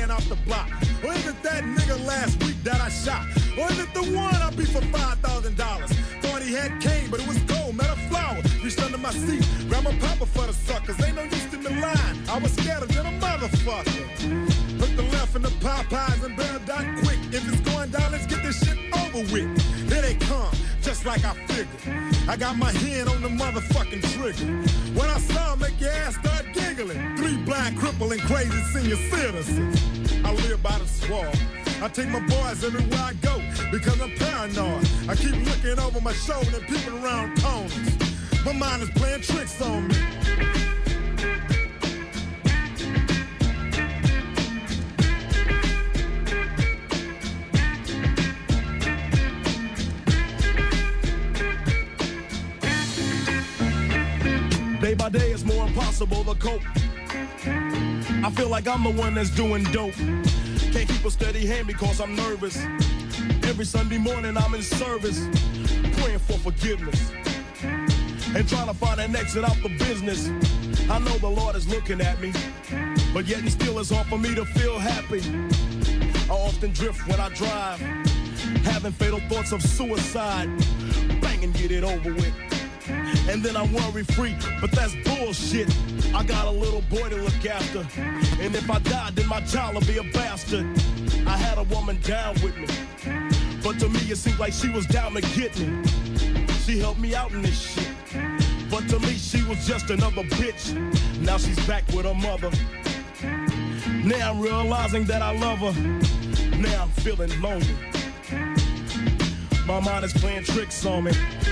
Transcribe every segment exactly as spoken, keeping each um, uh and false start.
ran off the block? Or is it that nigga last week that I shot? Or is it the one I beat for five thousand dollars? Thought he had cane, but it was gold, not a flower. Reached under my seat, grabbed my papa for the suckers. Ain't no use in the line, I was scared of them a motherfucker. Hook the left in the Popeyes and better die quick. If it's going down, let's get this shit over with. Here they come, just like I figured. I got my hand on the motherfucking trigger. When I saw him, make your ass start giggling. Three blind, crippling, crazy senior citizens. I live by the swamp. I take my boys everywhere I go because I'm paranoid. I keep looking over my shoulder and peeping around corners. My mind is playing tricks on me. Day by day it's more impossible to cope. I feel like I'm the one that's doing dope. Can't keep a steady hand because I'm nervous. Every Sunday morning I'm in service, praying for forgiveness and trying to find an exit out the business. I know the Lord is looking at me, but yet and still it's hard for me to feel happy. I often drift when I drive, having fatal thoughts of suicide. Bang and get it over with. And then I'm worry free, but that's bullshit. I got a little boy to look after, and if I die, then my child will be a bastard. I had a woman down with me, but to me it seemed like she was down to get me. She helped me out in this shit, but to me she was just another bitch. Now she's back with her mother. Now I'm realizing that I love her. Now I'm feeling lonely. My mind is playing tricks on me.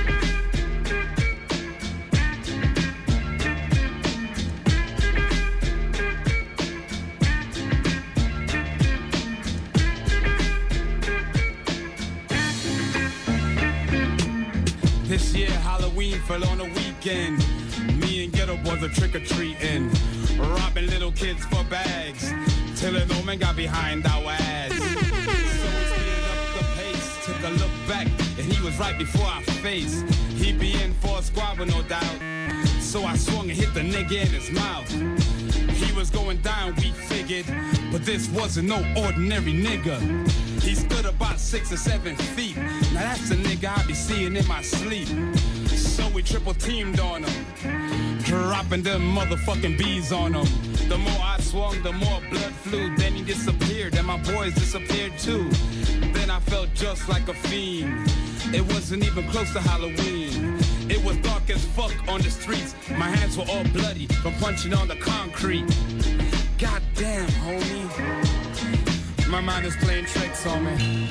This year Halloween fell on a weekend. Me and Ghetto Boys are trick-or-treating, robbing little kids for bags, till an old man got behind our ass. So we speeded up the pace, took a look back, and he was right before our face. He be in for a squabble, no doubt, so I swung and hit the nigga in his mouth. He was going down, we figured, but this wasn't no ordinary nigga. He stood about six or seven feet. Now that's the nigga I be seeing in my sleep. So we triple teamed on him, dropping them motherfucking bees on him. The more I swung, the more blood flew. Then he disappeared, and my boys disappeared too. Then I felt just like a fiend. It wasn't even close to Halloween. It was dark as fuck on the streets. My hands were all bloody from punching on the concrete. Goddamn, homie. My mind is playing tricks on me.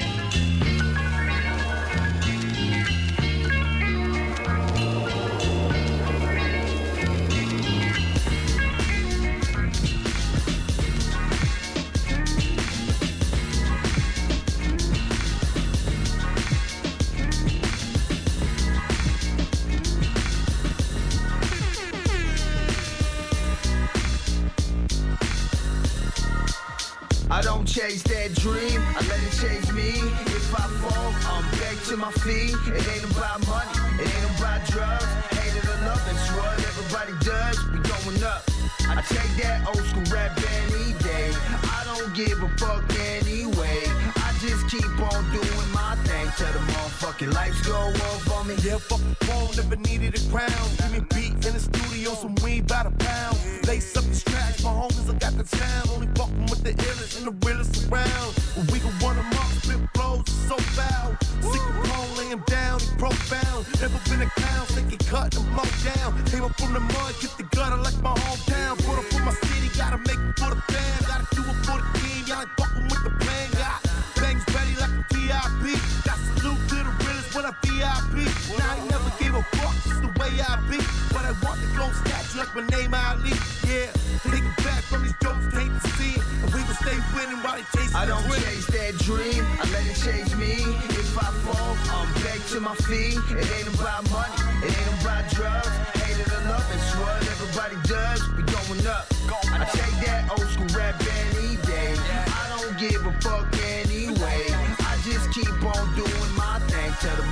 I don't chase that dream, I let it chase me. If I fall, I'm back to my feet. It ain't about money, it ain't about drugs. Hate it or love, it's what everybody does. We going up. I take that old school rap any day. I don't give a fuck anyway. I just keep on doing my thing till the motherfucking lights go off on me. Yeah, fuck the phone, never needed a crown. Give me beat in the studio, some weed by the pound. Lace up the tracks, my homies, I got the town. Only fucking with the illest and the realest around. When we can run them up, spit flows so foul. Sick of Paul, lay him down, he profound. Never been a clown, think he cut and blow down. Came up from the mud, get the gutter like my hometown. Put up for my city, gotta make it for the fam. Gotta do it for the team, y'all ain't fucking with the plan. Got bangs ready like a V I P. Got salute to the realest when I V I P. Now I ain't never gave a fuck, it's the way I be. But I want to go statue like my name Ali. Yeah, take it back from these jokes, hate to see it. And we gon' stay winning while they chase I the don't dream. chase that dream, I let it chase me. If I fall, I'm back to my feet. It ain't about money, it ain't about drugs. Hate it or love, it's what everybody does. We going up. I take that old school rap any day. I don't give a fuck anyway. I just keep on doing my thing till the motherfucking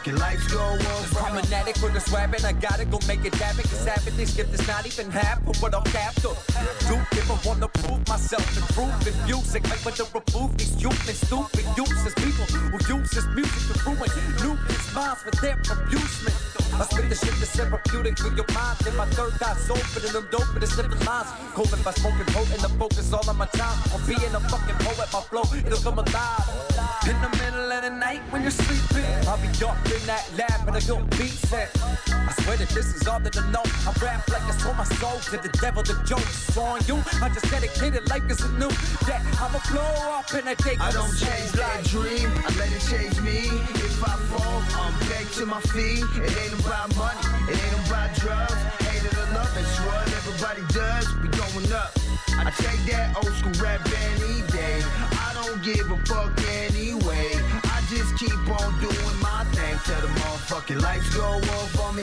motherfucking lights go off. I'm an addict with a swab and I gotta go make it happen. Cause having this gift is not even half of what I'm after. Do if I wanna prove myself, improve in music. Make better remove these stupid, stupid, useless people who use this music to ruin numerous minds for their amusement. I spit the shit that's therapeutic for your mind. Then my third eye's open and I'm dope with the slipping lines. Cold if I smoking potent, the focus all on my time. On being a fucking poet, my flow, it'll come alive. In the middle of the night when you're sleeping, I'll be up in that lab and a good beat set. I swear that this is all that I know. I rap like I sold my soul to the devil. The joke's on you. I just dedicated life is a new that I'ma blow up in a day. I don't chase that dream, I let it chase me. If I fall, I'm back to my feet. It ain't about money, it ain't about drugs. Hate it or love, it's what everybody does. We going up. I take that old school rap any day. I don't give a fuck anyway. I just keep on doing my thing till the motherfucking lights go off on me.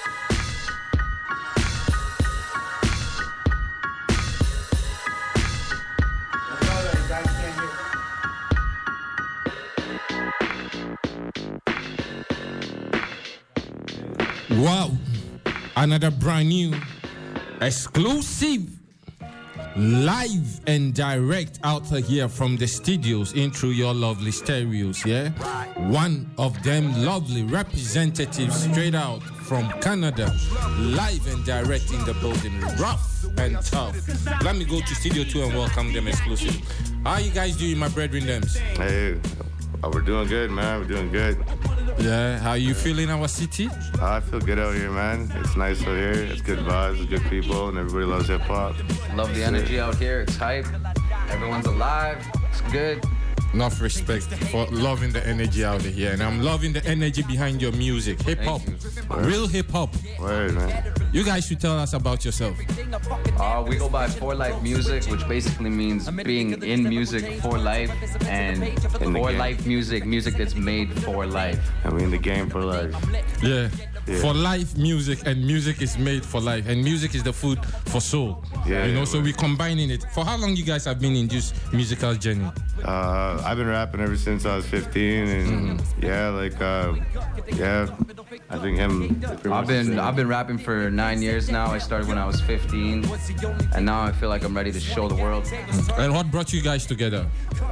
Wow, another brand new, exclusive, live and direct out here from the studios in through your lovely stereos, yeah? One of them lovely representatives straight out from Canada, live and direct in the building, rough and tough. Let me go to Studio two and welcome them exclusive. How you guys doing, my brethren thems? Hey, uh, we're doing good, man, we're doing good. Yeah, how you feeling our city? Uh, I feel good out here, man. It's nice out here. It's good vibes, it's good people, and everybody loves hip hop. Love the energy out here. It's hype. Everyone's alive. It's good. Enough respect for loving the energy out here, and I'm loving the energy behind your music. Hip hop, real hip hop. Word, man. You guys should tell us about yourself. Uh, we go by For Life Music, which basically means being in music for life, and for life music, music that's made for life. And we in the game for life. Yeah. Yeah. For life music, and music is made for life, and music is the food for soul. Yeah, you know, yeah, so we're combining it. For how long you guys have been in this musical journey? Uh, I've been rapping ever since I was fifteen, and mm-hmm. yeah, like, uh, yeah, I think him. I've been I've been rapping for nine years now. I started when I was fifteen, and now I feel like I'm ready to show the world. And what brought you guys together?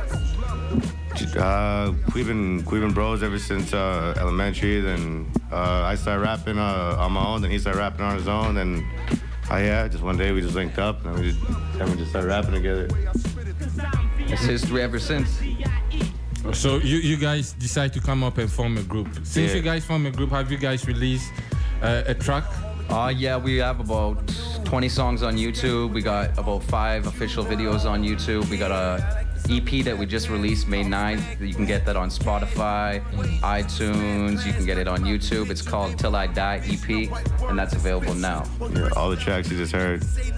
Uh, we've been we've been bros ever since uh, elementary. Then uh, I started rapping uh, on my own. Then he started rapping on his own. And uh, yeah, just one day we just linked up, and we just and we just started rapping together. It's history ever since. So you you guys decide to come up and form a group. Since yeah. you guys form a group, have you guys released uh, a track? Uh, yeah, we have about twenty songs on YouTube. We got about five official videos on YouTube. We got a E P that we just released May ninth. You can get that on Spotify, iTunes. You can get it on YouTube. It's called Till I Die E P, and that's available now. Yeah, all the tracks you just heard.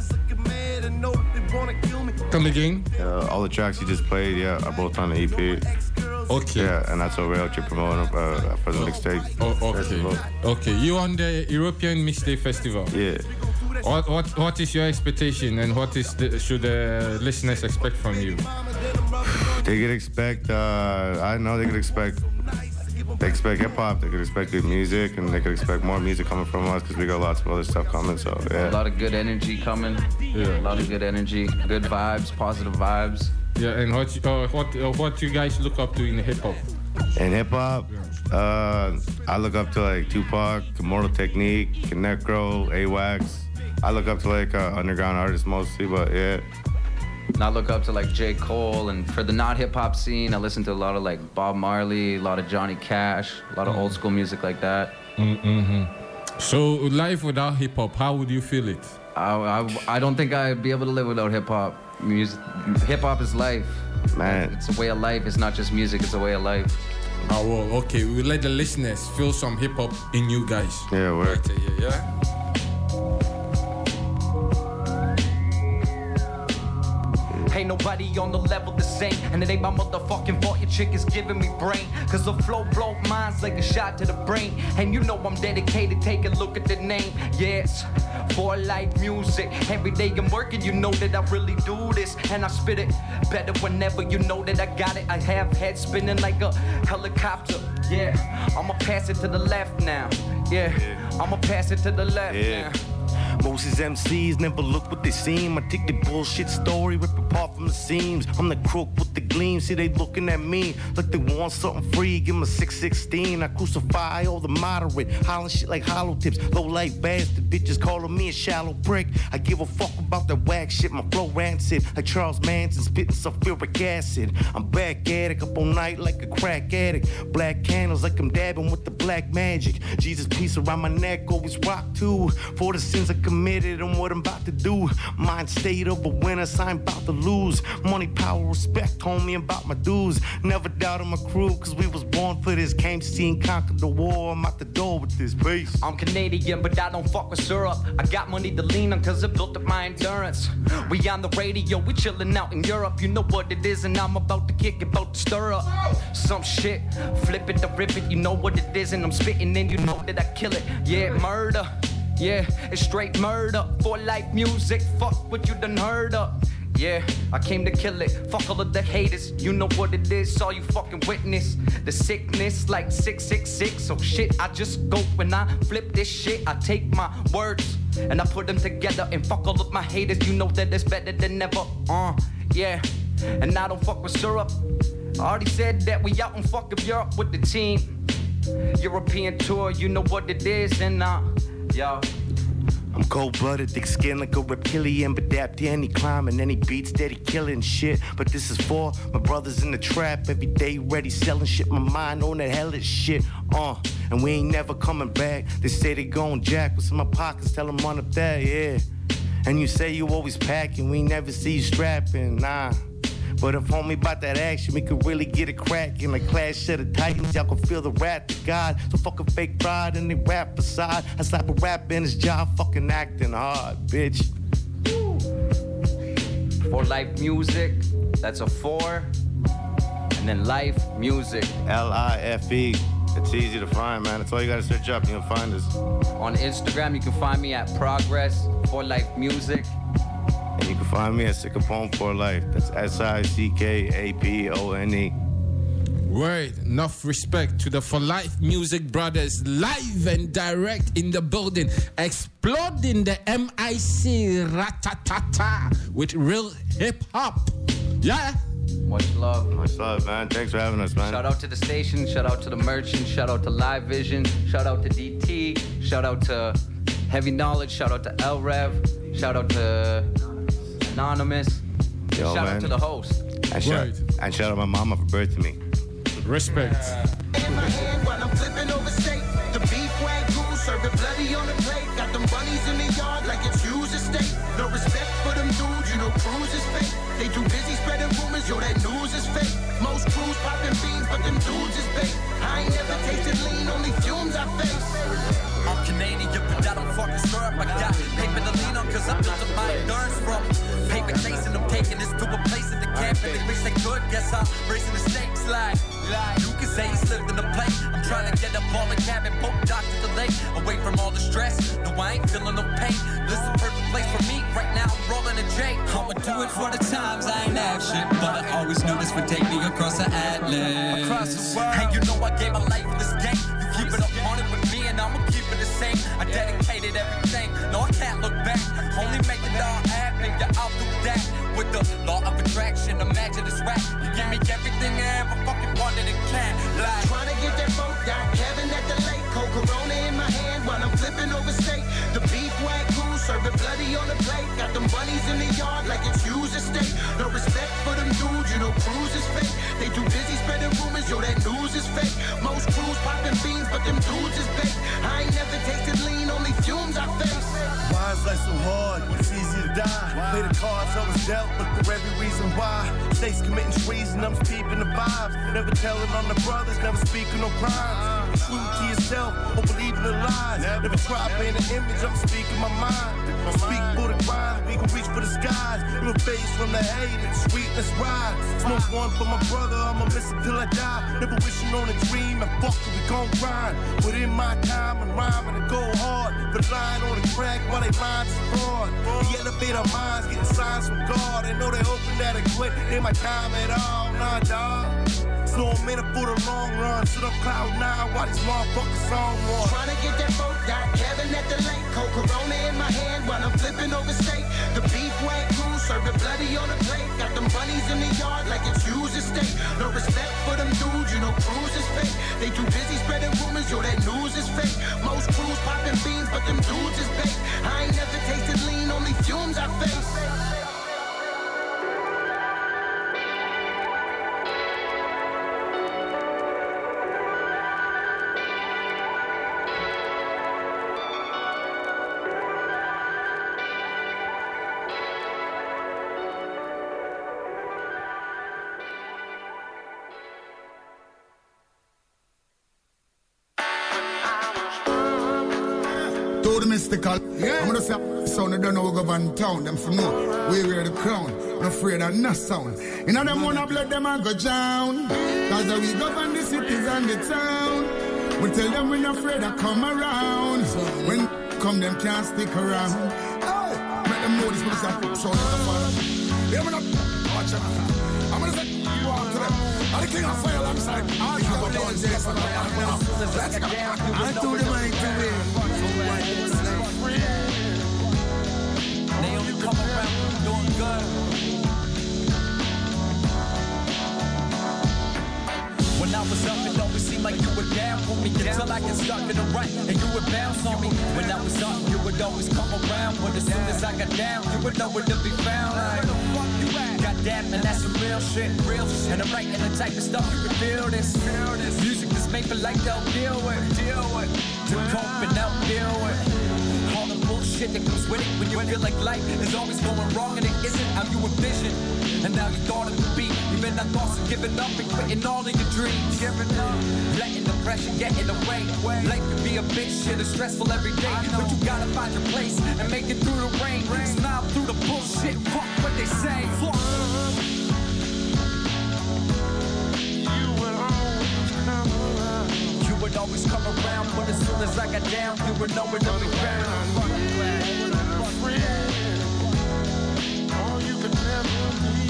Come again? Uh, all the tracks you just played, yeah, are both on the E P. Okay. Yeah, and that's what we're out here promoting uh, for the mixtape. Oh, okay. Festival. Okay, you on the European Mixtape Festival? Yeah. What what what is your expectation, and what is the, should the listeners expect from you? They could expect. Uh, I know they could expect. They expect hip hop. They could expect good music, and they could expect more music coming from us because we got lots of other stuff coming. So yeah. A lot of good energy coming. Yeah. A lot of good energy, good vibes, positive vibes. Yeah, and what uh, what uh, what you guys look up to in hip hop? In hip hop, uh, I look up to like Tupac, Immortal Technique, Necro, A-Wax. I look up to like uh, underground artists mostly, but yeah. And I look up to like J. Cole, and for the not hip hop scene, I listen to a lot of like Bob Marley, a lot of Johnny Cash, a lot of old school music like that. Mm-hmm. So life without hip hop, how would you feel it? I, I, I don't think I'd be able to live without hip hop. Music, hip hop is life, man. It's a way of life. It's not just music. It's a way of life. Oh well, okay. We will let the listeners feel some hip hop in you guys. Yeah, we're right here, yeah. Ain't nobody on the level the same, and it ain't my motherfucking fault your chick is giving me brain. Cause the flow blow minds like a shot to the brain. And you know I'm dedicated, take a look at the name. Yes, For life music, every day I'm working, you know that I really do this. And I spit it better whenever you know that I got it. I have head spinning like a helicopter. Yeah, I'ma pass it to the left now. Yeah, I'ma pass it to the left Yeah. now. Most of these M Cs never look what they seem. I take the bullshit story, rip apart from the seams. I'm the crook with the gleam. See, they looking at me like they want something free. Give them a six sixteen. I crucify all the moderate. Hollering shit like hollow tips. Low life bastard. Bitches calling me a shallow prick. I give a fuck about that whack shit. My flow rancid. Like Charles Manson spitting sulfuric acid. I'm back at it. Up all night like a crack addict. Black candles like I'm dabbing with the black magic. Jesus piece around my neck. Always rock too. For the sins I committed and what I'm about to do. Mind state of a winner, so I'm about to lose. Money, power, respect, homie, I'm about my dues. Never doubted my crew, cause we was born for this. Came to see and conquer the war. I'm out the door with this peace. I'm Canadian, but I don't fuck with syrup. I got money to lean on, cause it built up my endurance. We on the radio, we chillin' out in Europe. You know what it is, and I'm about to kick it, about to stir up some shit. Flip it to rip it, you know what it is, and I'm spitting, and you know that I kill it. Yeah, murder. Yeah, it's straight murder. For life music, fuck what you done heard of. Yeah, I came to kill it. Fuck all of the haters, you know what it is. Saw you fucking witness the sickness like six six six. So shit, I just go when I flip this shit. I take my words and I put them together. And fuck all of my haters, you know that it's better than ever. Uh, yeah, and I don't fuck with syrup. I already said that we out in fucking Europe with the team. European tour, you know what it is. And uh, yo, I'm cold-blooded, thick skin like a reptilian, but adapt to any climb any beats steady killing shit. But this is for my brothers in the trap, every day ready selling shit. My mind on that hellish shit, uh, and we ain't never coming back. They say they gon' jack, what's in my pockets? Tell them run up there, yeah. And you say you always packing, we never see you strapping, nah. But if homie bout that action, we could really get it crackin'. Like Clash of the Titans, y'all can feel the wrath of God. So fucking fake pride and they rap aside. I slap a rap in his job, fucking acting hard, bitch. For life music, that's a four. And then life music. L I F E. It's easy to find, man. That's all you gotta search up. You can find us. On Instagram, you can find me at Progress For Life Music. And you can find me at Sick of Poem for Life. That's S I C K A P O N E. Word, enough respect to the For Life Music Brothers, live and direct in the building, exploding the M I C ratatata with real hip hop. Yeah. Much love. Much love, man. Thanks for having us, man. Shout out to the station, shout out to the merchant, shout out to Live Vision, shout out to D T, shout out to Heavy Knowledge, shout out to L Rev, shout out to Anonymous, Yo, shout man. out to the host. And shout, and shout out my mama for birthing me. Respect. In my hand while I'm flipping over steak. The beef wagyu, serving bloody on the plate. Got them bunnies in the yard like it's used estate. No respect for them dudes, you know Cruz is fake. They too busy spreading rumors, yo, that news is fake. Most crews popping beans, but them dudes is fake. I ain't never tasted lean, only fumes I face. I'm Canadian, but I don't fucking syrup. I got paper to lean on, cause I built up my endurance from paper chasing. I'm taking this to a place that they can't really reach. They could, guess I'm raising the stakes like, like you can say he slipped in the plate. I'm trying to get up all the cabin, poke doctor the lake. Away from all the stress, no, I ain't feeling no pain. This is the perfect place for me, right now I'm rolling a J. I'ma do it for the times, I ain't have shit, but I always knew this would take me across the atlas. Across the world. Hey, you know I gave my life for this game. You keep it up on it with me and I'ma keep it the same. I dedicated everything, no I can't look back. Only make it all happen, you're out through that. With the law of attraction, imagine this rap. You give me everything I ever fucking wanted and can. Like Trying to get that boat down, Kevin at the lake. Cold Corona in my hand while I'm flipping over steak. The beef wagyu, serving bloody on the plate. Got them bunnies in the yard like it's used estate. No respect for them dudes, you know Cruz is fake. They too busy spreading rumors, yo, that news is fake. Most crews popping beans, but them dudes is fake. I ain't never tasted lean, only fumes I face. Why is life so hard? It's easy to die. Play the cards I was dealt, look for every reason why. States committing treason and I'm speaking the vibes. Never telling on the brothers, never speaking no crimes. Be true to yourself, or believe in the lies. Never try paint an image, I'm speaking my mind. I speak for the grind, we can reach for the skies. You a face from the hate, it's sweetness rise. Smoke one for my brother, I'ma miss it till I die. Never wishing on a dream, and fuck it, we gon' grind. Put in my time and rhyme and go hard. But lying on the track while they lines is fraud. We elevate our minds, getting signs from God. They know they hoping that I quit, they my time at all, nah dawg. So I'm in it for the long run. Sit up cloud nine, while these motherfuckers on one. Trying to get that boat, got Kevin at the lake. Cold Corona in my hand while I'm flipping over steak. The beef wag crew serving bloody on the plate. Got them bunnies in the yard like it's used estate. No respect for them dudes, you know crews is fake. They too busy spreading rumors, yo that news is fake. Most crews popping beans, but them dudes is fake. I ain't never tasted lean, only fumes I face. Mystical. Yeah. I'm gonna say, son, I don't know we go on town. Them for know we wear the crown. I'm afraid of no sound. You know them wanna blood them and go down. Cause we govern the cities and the town. We tell them we're not afraid to come around. When come them can't stick around. Oh, make them know this for the sound. Yeah, I'm gonna watch them. I'm gonna say, you on to them. I'm the king of fire alongside. I have a dog, yes, I'm a let's go. I told them I ain't to win. They only come around doing good. When I was up, it always seemed like you were down for me until I get stuck in the right and you would bounce on me. When I was up, you would always come around, but as soon as I got down, you would know where to be found. Like, where the fuck you at? Goddamn, and that's some real shit, real shit. And I'm writing the type of stuff you can feel this, feel this. Music that's made for like they'll deal with, deal with, to cope and out deal with. All the bullshit that comes with it when you feel like life is always going wrong and it isn't how you envision. And now you thought it would be. You've been that thoughts of giving up and quitting all of your dreams. Giving up, letting the pressure get in the way. Life can be a bitch, shit is stressful every day. But you gotta find your place and make it through the rain. Smile through the bullshit, fuck what they say. Fuck. You would always come around. You would always come around, but as soon as I got down, you would know where to be found. Fuck you at. All you could never be.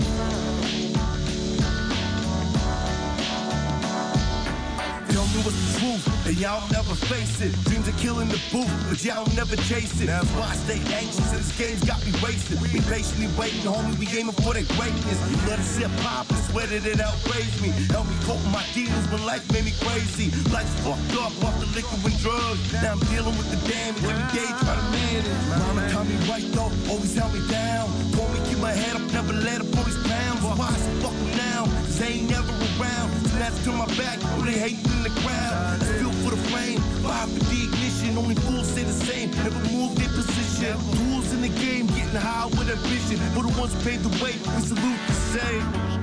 Tell me what's the truth, and y'all never face it. Dreams are killing the booth, but y'all never chase it. That's why I stay anxious, and this game's got me wasted. We patiently waiting, homie, we aiming for that greatness. You let it sit pop and swear that it outraised me. Help me cope with my demons when life made me crazy. Life's fucked up off the liquor and drugs. Now I'm dealing with the damage every day, trying to manage. Mama taught me right though, always held me down. Told me keep my head up, never let up all these pounds. Why I say fuck them now, cause they ain't never around. Snatch to my back, oh they hating in the crowd. Still for the flame, fire for the ignition. Only fools stay the same, never move their position. Tools in the game, getting high with ambition. For the ones who paved the way, we salute the same.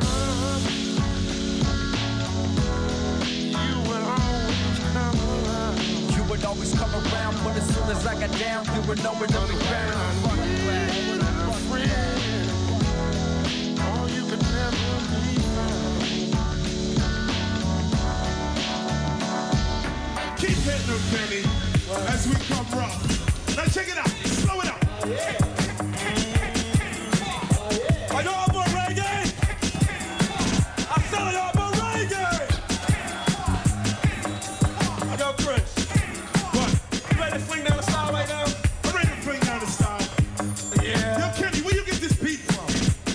You would always come around. You would always come around, but as soon as I got down, you would know where to be found. Fuck you at. All you could never be found. Keep hitting them, Kenny, as we come rough. Now check it out, slow it up. Yeah. Are y'all about reggae? I said y'all about reggae. I got Chris. What? You ready to fling down the style right now? I'm ready to fling down the style. Yeah. Yo, Kenny, where you get this beat from?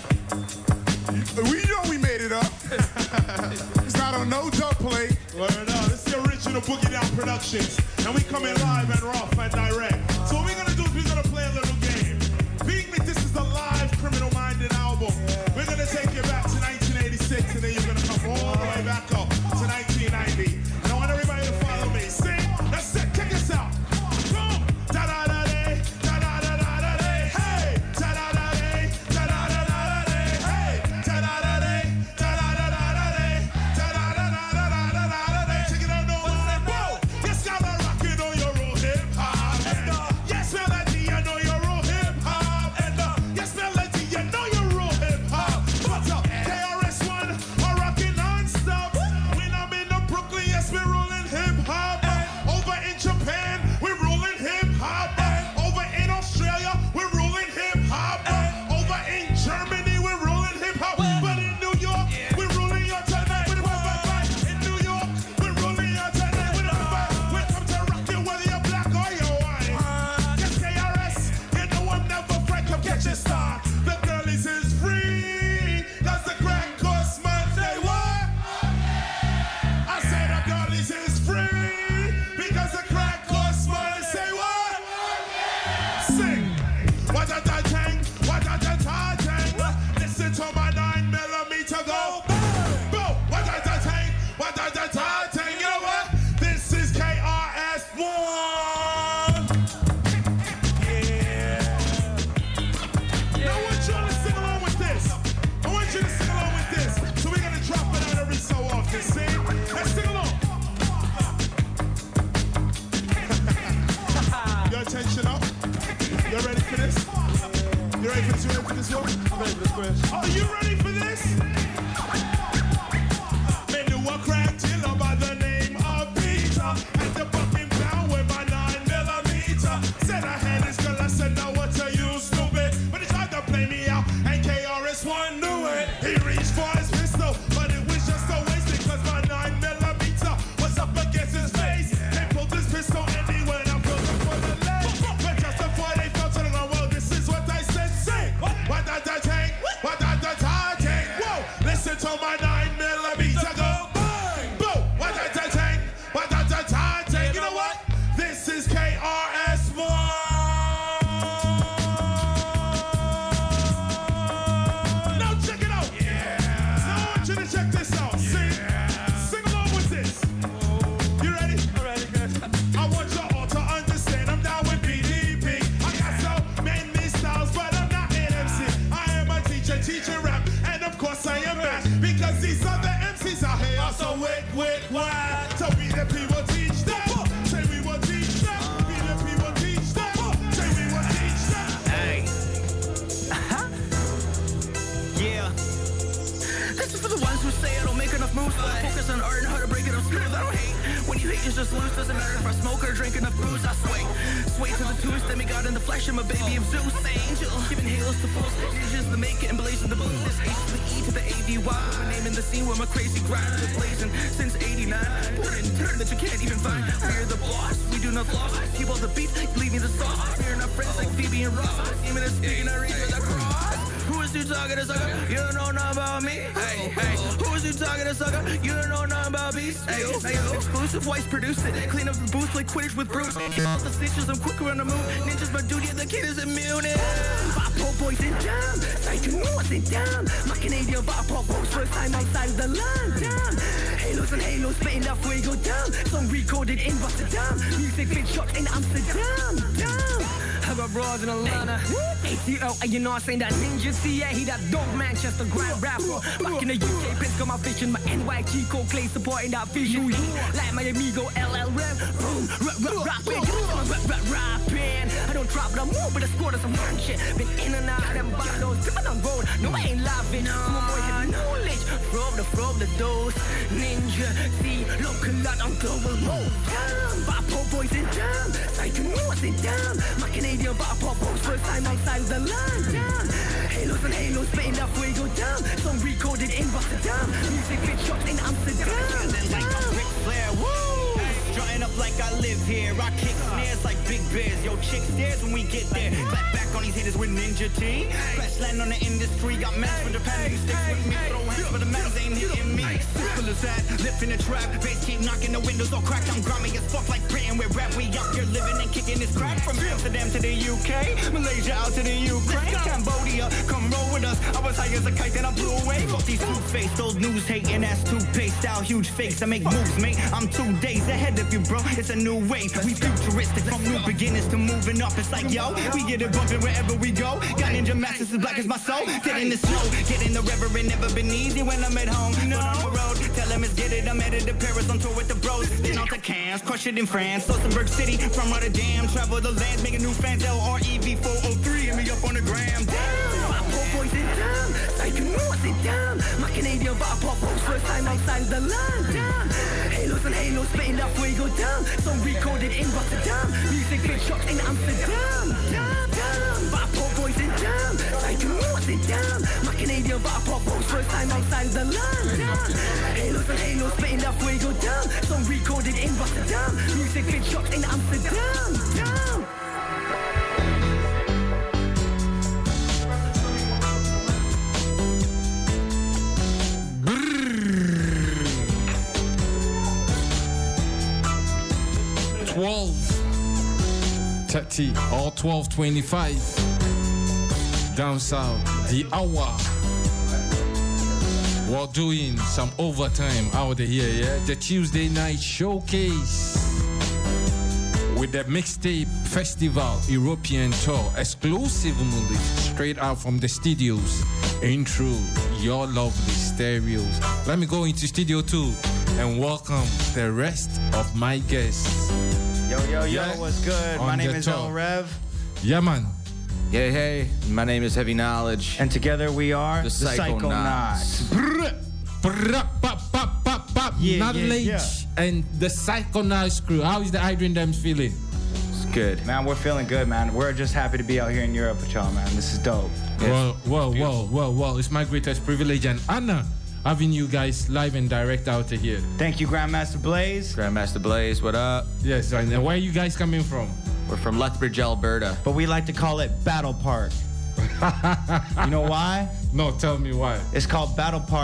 We know we made it up. It's not on no dub plate. Word up. This is the original Boogie Down Productions. And we come in live and rough and direct. So what we're gonna do is we're gonna play a little game. Being that this is a live Criminal Minded album, we're gonna take you back to nineteen eighty-six and then you're gonna come all the way back up to nineteen ninety. And I want everybody to follow me. Sing, that's it, check us out. Boom! Da-da-da-day, da-da-da-da-day, hey! Da-da-da-day, da-da-da-da-day, hey! Da-da-da-day, da-da-da-da-day. told my nine millimeter go bang, boom, what a ta tang, what a ta ta tang. You know what? This is K R S One. Now check it out. Yeah. Now I want you to check this out. Sing, sing along with this. You ready? I'm ready, good. I want you all to understand I'm down with B D P. I got so many styles, but I'm not an M C. I am a teacher, teaching rap, and of course I am back because these other M Cs out here are so wick, wick, whack. So we the people teach them. Say we will teach them. We the people teach them. Say we will teach them. Hey. Yeah. This is for the ones who say I don't make enough moves, but I focus on art and how to break it up smooth. I don't hate. When you hate, you just lose. Doesn't matter if I smoke or drink enough booze. I sway. Sway to the twos, demigod in the flesh. I'm a baby of Zeus. Angel. Giving halos to fools. Ninjas the make it and blazing the boom. This H to the E to the A D Y. My name in the scene where my crazy grind is blazing since eighty-nine. Put it in turn that you can't even find. We're the boss. We do not floss. Keep all the beef. Leave me the sauce. We're not friends like Phoebe and Ross. Even a speaking, I read with a cross. Who is you talking to, sucker? You don't know nothing about me. Hey, hey. Who is you talking to, sucker? You don't know nothing about me. Hey, hey, exclusive whites produced it. Clean up the booth like Quidditch with Bruce. All the snitches, I'm quicker on the move. Ninjas, my duty, the kid is immune. Bop pop boys in town. Like you know what's in town. My Canadian bop pop boys first time outside of the line. Down. Halos and halos, spitting up where you go down. Song recorded in Rotterdam. Music fit shot in Amsterdam. Down. How about bras in Atlanta? A T O, and you know I'm saying that ninja C A, he that dope Manchester grand rapper. Back in the U K, Prince got my vision, my N Y G code clay supporting that vision. Like my amigo L L Rem, boom, rap, rap, rapping, rap, rap, rapping. I don't drop, but I move with a squad of some man shit. Been in and out, them bottles, different on road. No, I ain't laughing. Some boy have knowledge from the from the dose. Ninja C, local lot on global mode. Bop boys in town, like you know what's in town. My Canadian bop pop boys first time outside of the line. Down. Halos and halos, spitting up where you go down. Song recorded in Rotterdam. Music fit shot in Amsterdam. Like a Ric Flair, woo! Strutting up like I live here. I kick snares like big bears. Yo, chick stares when we get there. Clap back on these haters with Ninja T. Crash land on the industry. Got mans from Japan who sticks with me. Throw hands, but the mans ain't hitting me. Simple as that. Lip in the trap. Bass keep knocking the windows all cracked. I'm grimy as fuck like Britain. With rap, we out here living and kicking this crack. From Amsterdam to the U K. Malaysia out to the Ukraine. Cambodia, come roll with us. I was high as a kite, then I blew away. Fuck these two-faced, old news hating ass toothpaste. Style huge fakes, I make moves, mate. I'm two days ahead of you, bro. It's a new wave. We futuristic from new beginners to moving up. It's like, yo, we get it bumping wherever we go. Got ninja masters as black as my soul. Get in the snow, get in the river. It never been easy when I'm at home. But on the road, tell them it's get it. I'm headed to Paris on tour with the bros. Then on to Cannes, crush it in France. Luxembourg City, from Rotterdam. Travel the land, making new fans. L R E V four oh three, hit me up on the gram. Bop pop boys in town, like you know what's in town. My Canadian bop pop boys first time outside of the line. Down. Halos and halos, spitting up where you go down. Song recorded in Rotterdam. Music fit shot in Amsterdam. Down, down. Bop pop boys in town, like you know what's in town. My Canadian bop pop boys first time outside of the line. Down. Halos and halos, spitting up where you go down. Song recorded in Rotterdam. Music fit shot in Amsterdam. Down. twelve thirty or twelve twenty-five down south, the hour. We're doing some overtime out here, yeah? The Tuesday night showcase with the Mixtape Festival European Tour, exclusively straight out from the studios in through your lovely stereos. Let me go into studio two and welcome the rest of my guests. Yo, yo, yo, Yeah. what's good? On My name the is top. El Rev. Yeah, man. Hey, hey, my name is Heavy Knowledge. And together we are The the Psychonauts. Psychonauts. Brr, pop, pop, pop, pop. Yeah, Knowledge yeah, yeah. and the Psychonauts crew. How is the Adrian Dems feeling? It's good. Man, we're feeling good, man. We're just happy to be out here in Europe with y'all, man. This is dope. Well, well, well, well, well. It's my greatest privilege and honor having you guys live and direct out here. Thank you, Grandmaster Blaze. Grandmaster Blaze, what up? Yes, and where are you guys coming from? We're from Lethbridge, Alberta. But we like to call it Battle Park. You know why? No, tell me why. It's called Battle Park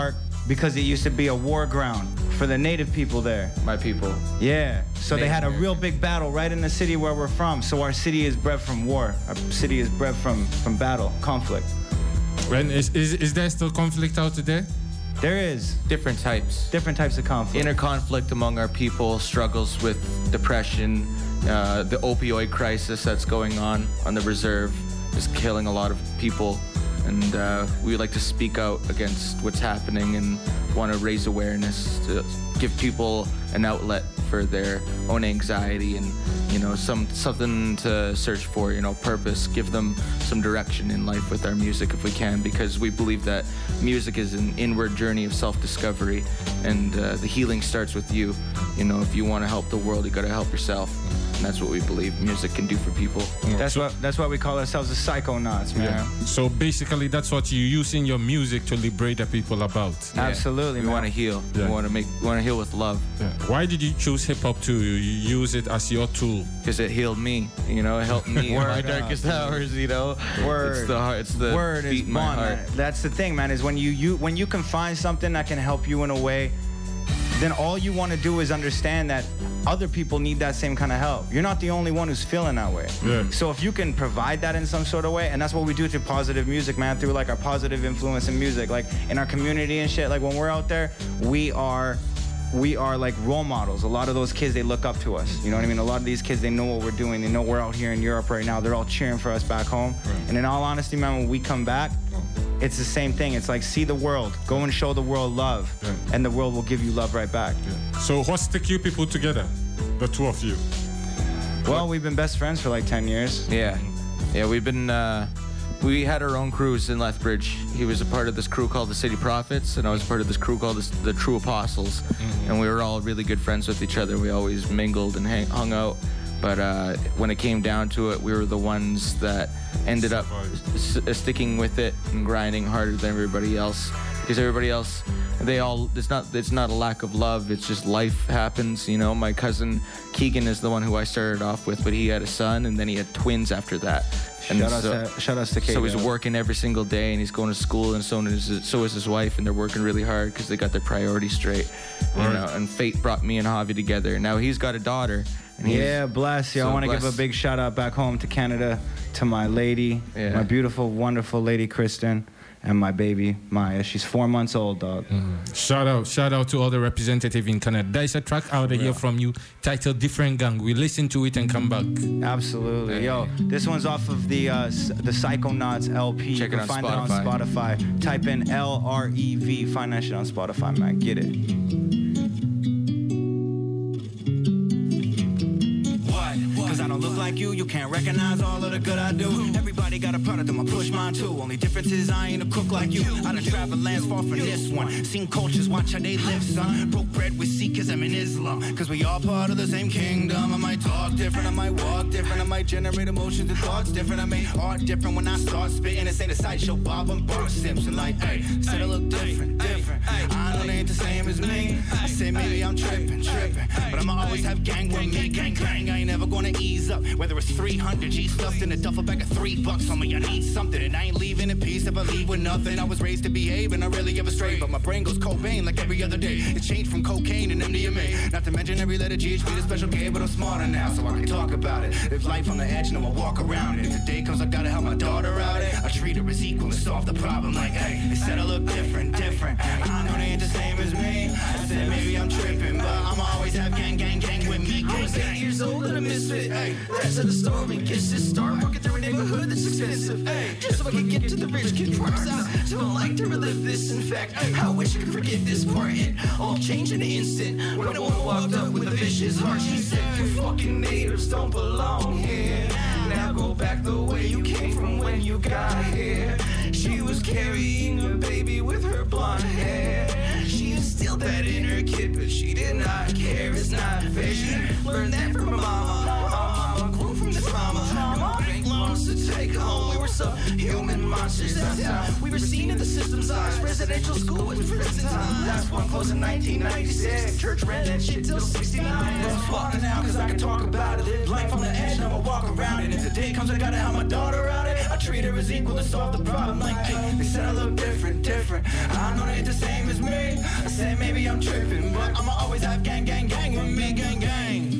because it used to be a war ground for the native people there. My people. Yeah. So Native they had a American. real big battle right in the city where we're from. So our city is bred from war. Our city is bred from, from battle, conflict. When is, is is there still conflict out there? There is. Different types. Different types of conflict. Inner conflict among our people, struggles with depression, uh, the opioid crisis that's going on on the reserve is killing a lot of people. And uh, we would like to speak out against what's happening and want to raise awareness to give people an outlet for their own anxiety and, you know, some something to search for, you know, purpose, give them some direction in life with our music if we can, because we believe that music is an inward journey of self-discovery, and uh, the healing starts with you. You know, if you want to help the world, you got to help yourself. And that's what we believe music can do for people. That's what that's why we call ourselves the Psychonauts, man. Yeah. So basically, that's what you use in your music to liberate the people about. Yeah. Absolutely, We man. want to heal. Yeah. We want to make. We want to heal with love. Yeah. Why did you choose hip hop to use it as your tool? Because it healed me. You know, it helped me in Word my up. darkest hours. You know, Word. It's the heart. It's the Word beat is in my bond, heart. man. That's the thing, man, is when you, you when you can find something that can help you in a way, then all you want to do is understand that other people need that same kind of help. You're not the only one who's feeling that way. Yeah. So if you can provide that in some sort of way, and that's what we do through positive music, man, through like our positive influence in music, like in our community and shit, like when we're out there, we are we are like role models. A lot of those kids, they look up to us. You know what I mean? A lot of these kids, they know what we're doing. They know we're out here in Europe right now. They're all cheering for us back home. Right. And in all honesty, man, when we come back, it's the same thing. It's like, see the world. Go and show the world love. Yeah. And the world will give you love right back. Yeah. So what stick you people together? The two of you. Well, we've been best friends for like ten years. Yeah, yeah. We've been. Uh, we had our own crews in Lethbridge. He was a part of this crew called the City Prophets, and I was part of this crew called the, the True Apostles. Mm-hmm. And we were all really good friends with each other. We always mingled and hang, hung out. But uh, when it came down to it, we were the ones that ended up s- sticking with it and grinding harder than everybody else. Because everybody else, they all, it's not it's not a lack of love, it's just life happens, you know. My cousin Keegan is the one who I started off with, but he had a son, and then he had twins after that. And Shout out so, to- shout outs to So he's Keegan. working every single day, and he's going to school, and so is, so is his wife, and they're working really hard because they got their priorities straight. You Right. know, and fate brought me and Javi together. Now he's got a daughter. And he's Yeah, bless you. so I want to give a blessed. big shout out back home to Canada, to my lady, Yeah. my beautiful, wonderful lady, Kristen, and my baby, Maya. She's four months old, dog. Shout out, shout out to all the representatives in Canada. There's a track out of here from you titled Different Gang. We listen to it and come back. Absolutely. Yo, this one's off of the uh, s- the Psychonauts L P. Check you it can on find it on Spotify. Spotify. Type in L R E V. Find that shit on Spotify, man. Get it. What? Cause I don't look like you, you can't recognize all of the good I do. Everybody got a product, I'ma push mine too. Only difference is I ain't a cook like you. I done traveled lands far from this one. Seen cultures, watch how they live, son. Broke bread with Sikhism and Islam. Cause we all part of the same kingdom. I might talk different, I might walk different. I might generate emotions and thoughts different. I make art different when I start spitting. This ain't a sideshow, Bob and Bart Simpson. Like, hey, said I look different, different. I know they ain't the same as me. I say maybe I'm tripping, tripping. But I'ma always have gang with me, gang, gang. I ain't never gonna ease up. Whether it's three hundred G stuffed in a duffel bag of three bucks on me, I need something. And I ain't leaving in peace if I leave with nothing. I was raised to behave and I rarely ever stray. But my brain goes Cobain like every other day. It's changed from cocaine and M D M A. Not to mention every letter G H B, the special K. But I'm smarter now, so I can talk about it. Live life on the edge, no I walk around it. If the day comes, I gotta help my daughter out it. I treat her as equal and solve the problem. Like, hey, they said I look different, different. I know they ain't the same as me. I said maybe I'm tripping, but I'ma always have gang, gang, gang with me. I was eight years old and a misfit. Hey, that's how the story gets to start. Walking through a neighborhood that's expensive. Hey, just so I can get to the rich kid parts out. Don't like to relive this. In fact, I wish I could forget this part. It all changed in an instant when a woman walked up with a vicious heart. She said, "You fucking natives don't belong here. Now go back the way you came from when you got here." She was carrying a baby with her blonde hair. She instilled that in her kid, but she did not care. It's not fair. She learned that from her mama. Her mama grew from this mama. Bank loan wants to take home. We were subhuman monsters. That's how we were seen in the system's eyes. Residential school was prison time. Last one closed in nineteen ninety-six. Church ran that shit till sixty-nine. I'm smarter now cause I can talk about it. Live life on the edge, I'ma walk around it. If the day comes I gotta have my daughter out it, I treat her as equal and solve the problem. Like, hey, they said I look different, different. I know they ain't the same as me. I said maybe I'm tripping, but I'ma always have gang, gang, gang with me, gang, gang.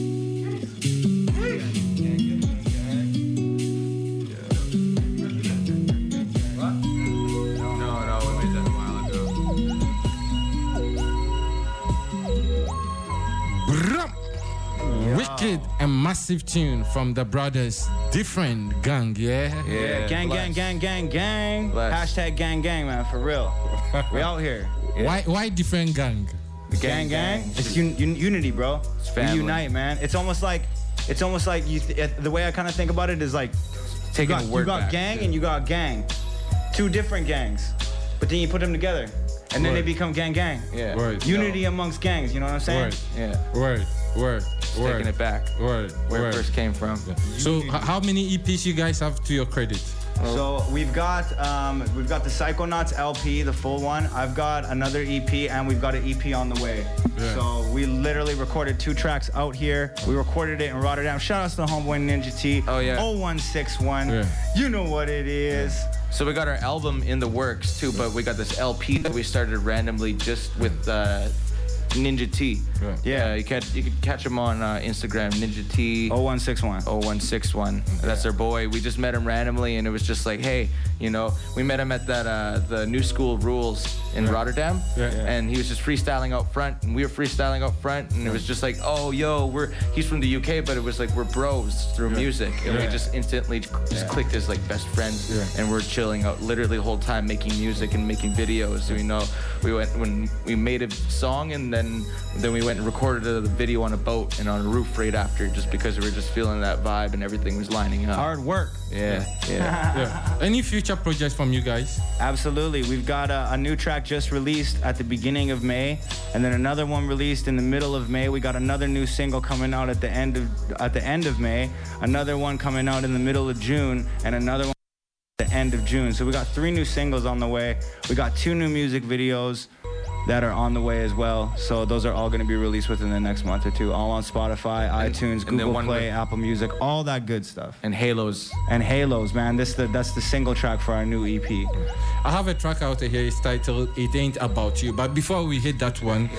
Wicked and massive tune from the brothers. Different gang, yeah? Yeah, gang, gang, gang, gang, gang. Hashtag gang, gang, man, for real. We out here. Yeah. Why Why different gang? Gang, gang. gang. It's un- un- unity, bro. It's family. We unite, man. It's almost like, it's almost like you. Th- the way I kind of think about it is like, taking you got, a word you got back, gang yeah. and you got gang, two different gangs, but then you put them together, and then Word. they become gang, gang. Yeah. Word. Unity amongst gangs. You know what I'm saying? Word. Yeah. Word. Word. Just Word. taking it back. Word. Where Word. it first came from. Yeah. So, h- how many E Ps you guys have to your credit? So we've got um, we've got the Psychonauts L P, the full one. I've got another E P, and we've got an E P on the way. Yeah. So we literally recorded two tracks out here. We recorded it in Rotterdam. Shout out to the homeboy Ninja T. Oh yeah. oh one six one. Yeah. You know what it is. So we got our album in the works too, but we got this L P that we started randomly just with uh, Ninja T. Yeah. Yeah. Uh, you can you can catch him on uh, Instagram, Ninja T. oh one six one. oh one six one. That's our boy. We just met him randomly, and it was just like, hey, you know, we met him at that uh, the New School Rules in Yeah. Rotterdam, Yeah. Yeah. and he was just freestyling out front, and we were freestyling out front, and it was just like, oh, yo, we're he's from the U K, but it was like we're bros through music, and Yeah. we just instantly just Yeah. clicked as like best friends, Yeah. and we're chilling out literally the whole time making music and making videos. You know, we went when we made a song, and then then we went and recorded the video on a boat and on a roof right after, just because we were just feeling that vibe and everything was lining up. Hard work. Yeah, yeah. Yeah. Any future projects from you guys? Absolutely. We've got a, a new track just released at the beginning of May, and then another one released in the middle of May. We got another new single coming out at the end of at the end of May, another one coming out in the middle of June, and another one at the end of June. So we got three new singles on the way. We got two new music videos that are on the way as well. So those are all going to be released within the next month or two. All on Spotify, And- iTunes, and then Google one Play, with- Apple Music, all that good stuff. And Halos. And Halos, man. This the that's the single track for our new E P. I have a track out here. It's titled "It Ain't About You." But before we hit that one,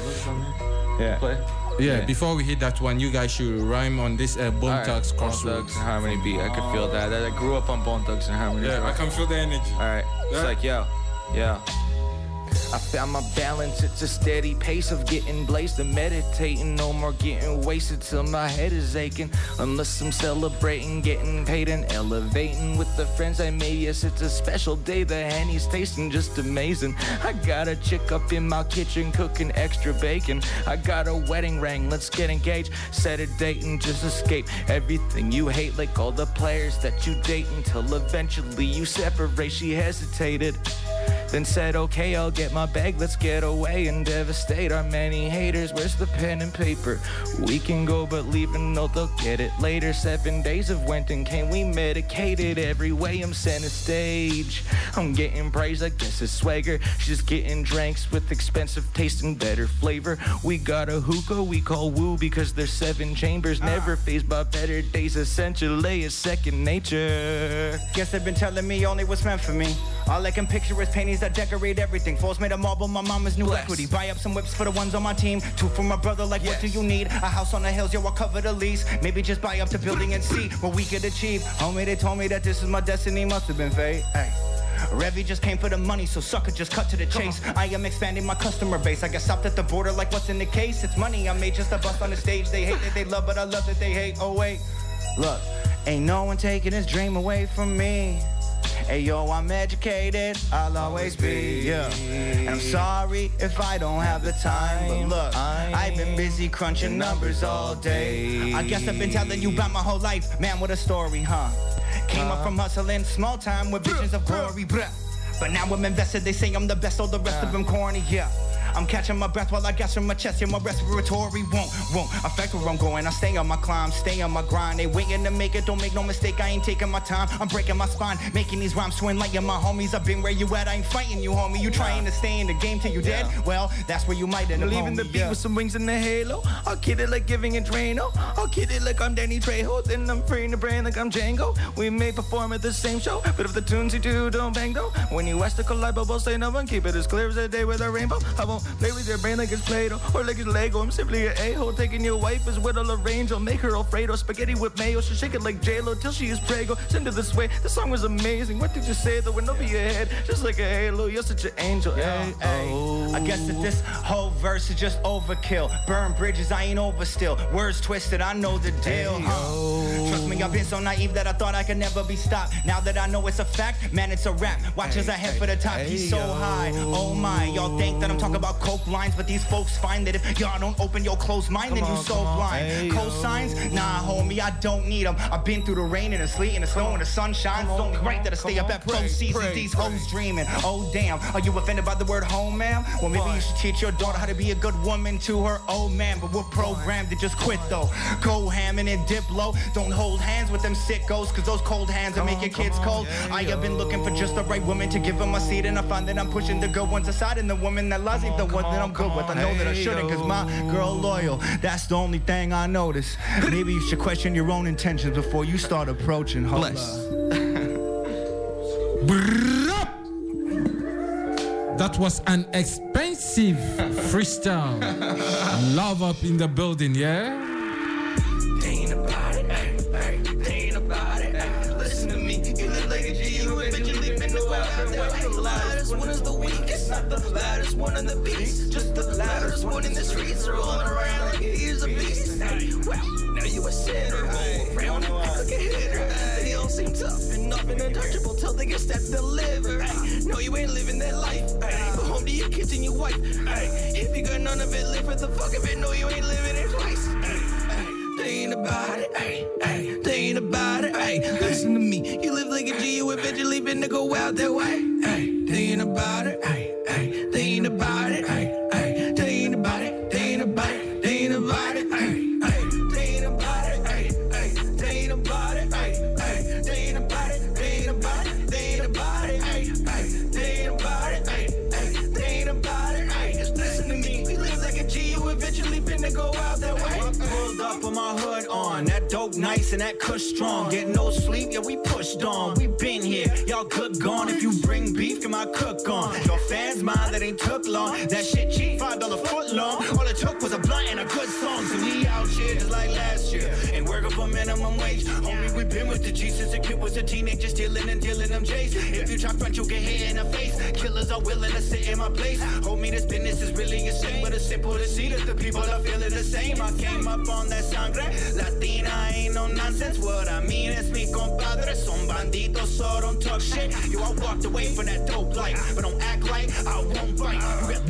Yeah. Play. yeah, Yeah. before we hit that one, you guys should rhyme on this uh, Bone All right. Thugs Bone Crossroads. Thugs and Harmony beat. I could feel that. I grew up on Bone Thugs and Harmony. Yeah, I can feel the energy. All right. It's Yeah. like, yo, yo. I found my balance, it's a steady pace of getting blazed and meditating. No more getting wasted till my head is aching. Unless I'm celebrating, getting paid and elevating with the friends I made. Yes, it's a special day, the Henny's tasting just amazing. I got a chick up in my kitchen cooking extra bacon. I got a wedding ring, let's get engaged. Set a date and just escape everything you hate, like all the players that you date, until eventually you separate. She hesitated, then said, okay, I'll get my bag, let's get away and devastate our many haters. Where's the pen and paper? We can go, but leave a note, they'll get it later. Seven days of went and came, we medicated every way. I'm center stage, I'm getting praise, I guess it's swagger. She's getting drinks with expensive taste and better flavor. We got a hookah we call woo because there's seven chambers. Never phased by better days, essentially it's second nature. Guess they've been telling me only what's meant for me. All I can picture is paintings that decorate everything. Floors made of marble, my mama's new Bless. equity. Buy up some whips for the ones on my team. Two for my brother, like Yes. what do you need? A house on the hills, yo, I'll cover the lease. Maybe just buy up the building and see what we could achieve. Homie, they told me that this is my destiny, must have been fate. Hey. Revy just came for the money, so sucker just cut to the chase. I am expanding my customer base. I got stopped at the border like what's in the case? It's money I made just a bust on the stage. They hate that they love, but I love that they hate. Oh wait, look, ain't no one taking this dream away from me. Hey yo, I'm educated, I'll always be, yeah. And I'm sorry if I don't have the time, but look, I've been busy crunching numbers all day. I guess I've been telling you about my whole life, man, what a story, huh? Came up from hustling, small time with visions of glory, bruh. But now I'm invested, they say I'm the best, all the rest of them corny, yeah. I'm catching my breath while I gas from my chest. Yeah, my respiratory won't, won't affect where I'm going. I stay on my climb, stay on my grind. They waiting to make it, don't make no mistake. I ain't taking my time. I'm breaking my spine, making these rhymes to enlighten my homies. I've been where you at, I ain't fighting you, homie. You trying to stay in the game till you dead? Well, that's where you might end up, leaving the beat yeah. with some wings in the halo. I'll kid it like giving a Drano. I'll kid it like I'm Danny Trejo. Then I'm freeing the brain like I'm Django. We may perform at the same show, but if the tunes you do don't bang though, when you ask the collide, we'll say no one. Keep it as clear as a day with a rainbow. I won't play with your brain like it's Play-Doh or like it's Lego. I'm simply an a-hole. Taking your wife is with a range. I'll make her Alfredo spaghetti with mayo. She'll shake it like J-Lo till she is prego. Send her this way. The song was amazing. What did you say though? When over your head, just like a halo. You're such an angel. Hey, hey. I guess that this whole verse is just overkill. Burn bridges, I ain't over still. Words twisted, I know the deal. Huh? Trust me, I've been so naive that I thought I could never be stopped. Now that I know it's a fact, man, it's a rap. Watch as I head for the top. He's so high. Oh my, y'all think that I'm talking about coke lines, but these folks find that if y'all don't open your closed mind, then you so blind. Cosigns? Nah, homie, I don't need them. I've been through the rain and the sleet and the snow and the sunshine. It's only right that I stay up at pro seasons. These hoes dreaming. Oh damn, are you offended by the word home, ma'am? Well, maybe you should teach your daughter how to be a good woman to her old man. But we're programmed to just quit though. Go ham and then dip low. Don't hold hands with them sickos, cause those cold hands will make your kids cold. I have been looking for just the right woman to give them a seat, and I find that I'm pushing the good ones aside, and the woman that loves it, the one that I'm good with. I know that I shouldn't, cause my girl loyal. That's the only thing I notice. Maybe you should question your own intentions before you start approaching. Hold That was an expensive freestyle. Love up in the building, yeah? They ain't about it, ay, ay. They ain't about it, ay. Listen to me, you look like a G, you eventually been the wild. The loudest one is the weakest, not the loudest one on the beats. Just the loudest one in the streets, rolling around like he's a beast. Ay, well, now you a sinner, roll around and act like a hitter. They all seem tough and up and untouchable till they get stepped delivered. Ay, no, you ain't living that life. Ay, go home to your kids and your wife. Ay, if you got none of it, live for the fuck of it. No, you ain't living it twice. Ay, They ain't about it, ay, ay. They ain't about it, ay. Listen to me, you live like a G, you eventually finna go out that way, ay. They ain't about it, ay, ay. They ain't about it, ay, ay. They ain't about it, they ain't about it, they ain't about it, ay, ay. They ain't about it, ay, ay. They ain't about it, ay, ay. They ain't about it, they ain't about it, they ain't about it, ay, ay. They ain't about it, ay, ay. They ain't about it, ay. Listen to me, you live like a G, you eventually finna go out that way. Pulled up with my hood on, that dope nice and that cush strong. Get no sleep, yeah, we pushed on. We been here, y'all good gone. If you bring beef, get my cook on. Your fans mind, that ain't took long. That shit cheap, five dollar foot long. All it took was a blunt and a good song. So we out here just like last year, and working for minimum wage. Homie, we been with the G since the kid was a teenager, stealing and dealing them J's. If you try front, you'll get hit in the face. Killers are willing to sit in my place. Homie, this business is really insane, but it's simple to see that the people are feeling the same. I came up on that sangre Latina, ain't no nonsense. What I mean is mi compadre son banditos, so don't talk shit. Yo, I walked away from that dope life, but don't act like I won't bite.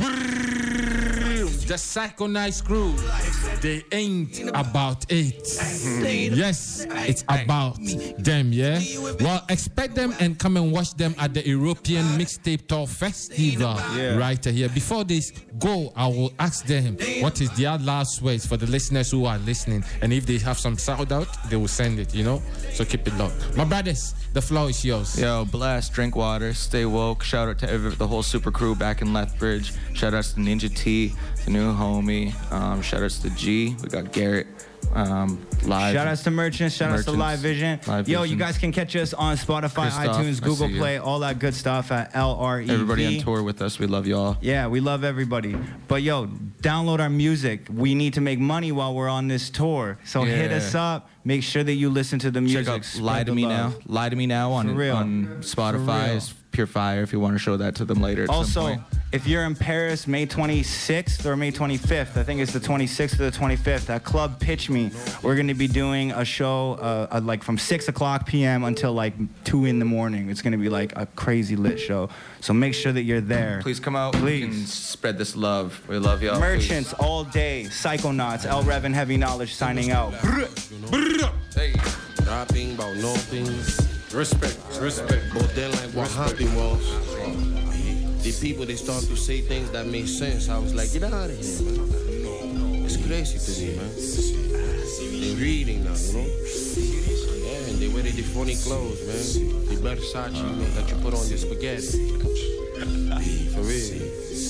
The Psycho Nice crew, they ain't about it. Yes, it's about them, yeah? Well, expect them and come and watch them at the European Mixtape Tour Festival Yeah. right here. Before this go, I will ask them what is their last words for the listeners who are listening. And if they have some shout out, they will send it, you know? So keep it low. My brothers, the floor is yours. Yo, blast, drink water, stay woke. Shout out to every, the whole super crew back in Lethbridge. Shout outs to Ninja T, the new homie. Um, shout outs to G. We got Garrett. Um, live. Shout outs to Merchants, shout outs to Live Vision. Live Yo, Vision. you guys can catch us on Spotify, Christoph, iTunes, I Google see you. Play, all that good stuff at L R E V. Everybody on tour with us. We love y'all. Yeah, we love everybody. But yo, download our music. We need to make money while we're on this tour. So hit Yeah. us up. Make sure that you listen to the music. Check out Spread Lie the to Me love. Now. Lie to Me Now on, For real. on Spotify. For real. It's pure fire if you want to show that to them later at some Also, point. if you're in Paris, May twenty-sixth or May twenty-fifth, I think it's the twenty-sixth or the twenty-fifth, at Club Pitch Me, we're going to be doing a show uh, uh, like from six o'clock p m until like two in the morning. It's going to be like a crazy lit show. So make sure that you're there. Please come out. Please. And spread this love. We love y'all. Merchants all day, Psychonauts, L Rev and Heavy Knowledge signing out. Hey, rapping about no things. Respect, respect. But then like what happened was the people, they start to say things that make sense. I was like, get out of here, man. It's crazy to me, man. They reading now, you know? Yeah, and they wear the funny clothes, man. The Versace, you know, that you put on your spaghetti. For real.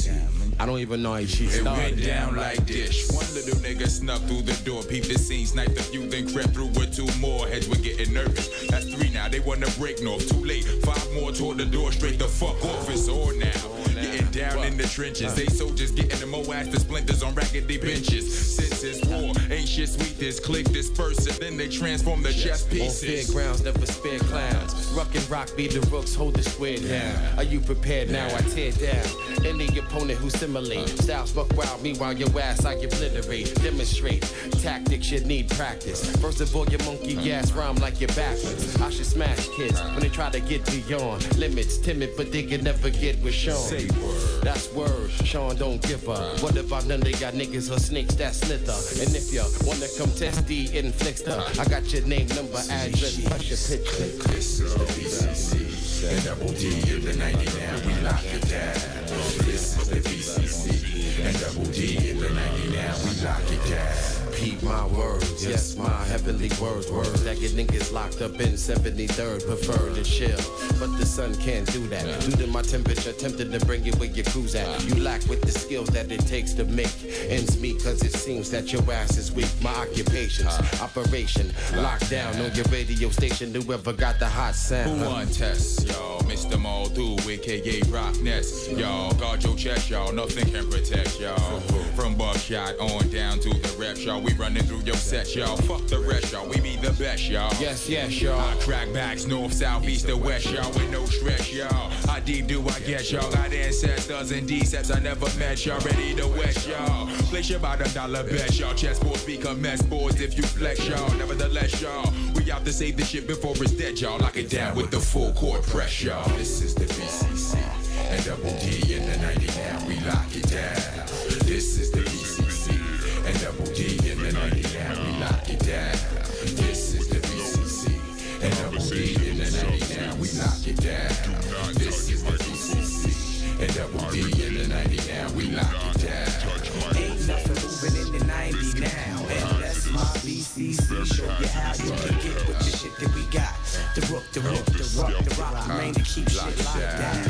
I don't even know how she It started. went down like this. One little nigga snuck through the door, peeped the scene, sniped a few, then crept through with two more. Heads were getting nervous. That's three now, they wanna break north. Too late, five more toward the door, straight the fuck off. It's on now. Getting down in the trenches. They soldiers getting the moass, the splinters on raggedy benches. Since it's war, ain't shit sweet. This click disperse it, then they transform the chess pieces. On fairgrounds, never spare clowns. Ruck and rock, be the rooks, hold the square down. Are you prepared now? I tear down any opponent who simulate. Styles buck wild, meanwhile your ass I obliterate. Demonstrate tactics, you need practice. First of all, your monkey ass rhyme like you're backwards. I should smash kids when they try to get beyond limits. Timid, but they can never get with Sean. That's word, Sean don't give up. What about none they got niggas or snakes that slither? And if you wanna come test the inflictor, I got your name, number, address, plus your picture. This is the B C C, and double D in the ninety now, we lock it down. This is the B C C, and double D in the ninety now, we lock it down. Repeat my words, yes, my heavenly words, words that get niggas locked up in seventy-third, prefer to chill, but the sun can't do that. Due to my temperature, tempted to bring you where your cruise at. You lack with the skills that it takes to make ends meet, cause it seems that your ass is weak. My occupation's operation, lockdown on your radio station, whoever got the hot sound. Who won test, y'all? Mister Moldu, aka Rock Nest, y'all. Guard your chest, y'all. Nothing can protect y'all. From buckshot on down to the rep, y'all. We running through your set, y'all. Fuck the rest, y'all. We be the best, y'all. Yes, yes, y'all. I crack backs north, south, east, or west, y'all. With no stress, y'all. I deep do I get y'all. Got ancestors and decepts I never met, y'all. Ready to west, y'all. Place your about a dollar bet, y'all. Chessboards become mess boards if you flex, y'all. Nevertheless, y'all. We out to save the shit before it's dead, y'all. Lock it down with the full court press, y'all. This is the B C C, and double D in the ninety now, we lock it down. This is the B C C, and double D in the ninety now, we lock it down. This is the B C C, and double D in the ninety now, we lock it down. This is the B C C, and double D in the ninety now, we lock it down. Ain't nothing moving in the ninety now, and that's my B C C. Show you how you can get with the shit that we got. The rook, the rook, the rock, the rock, the rain to keep shit locked down.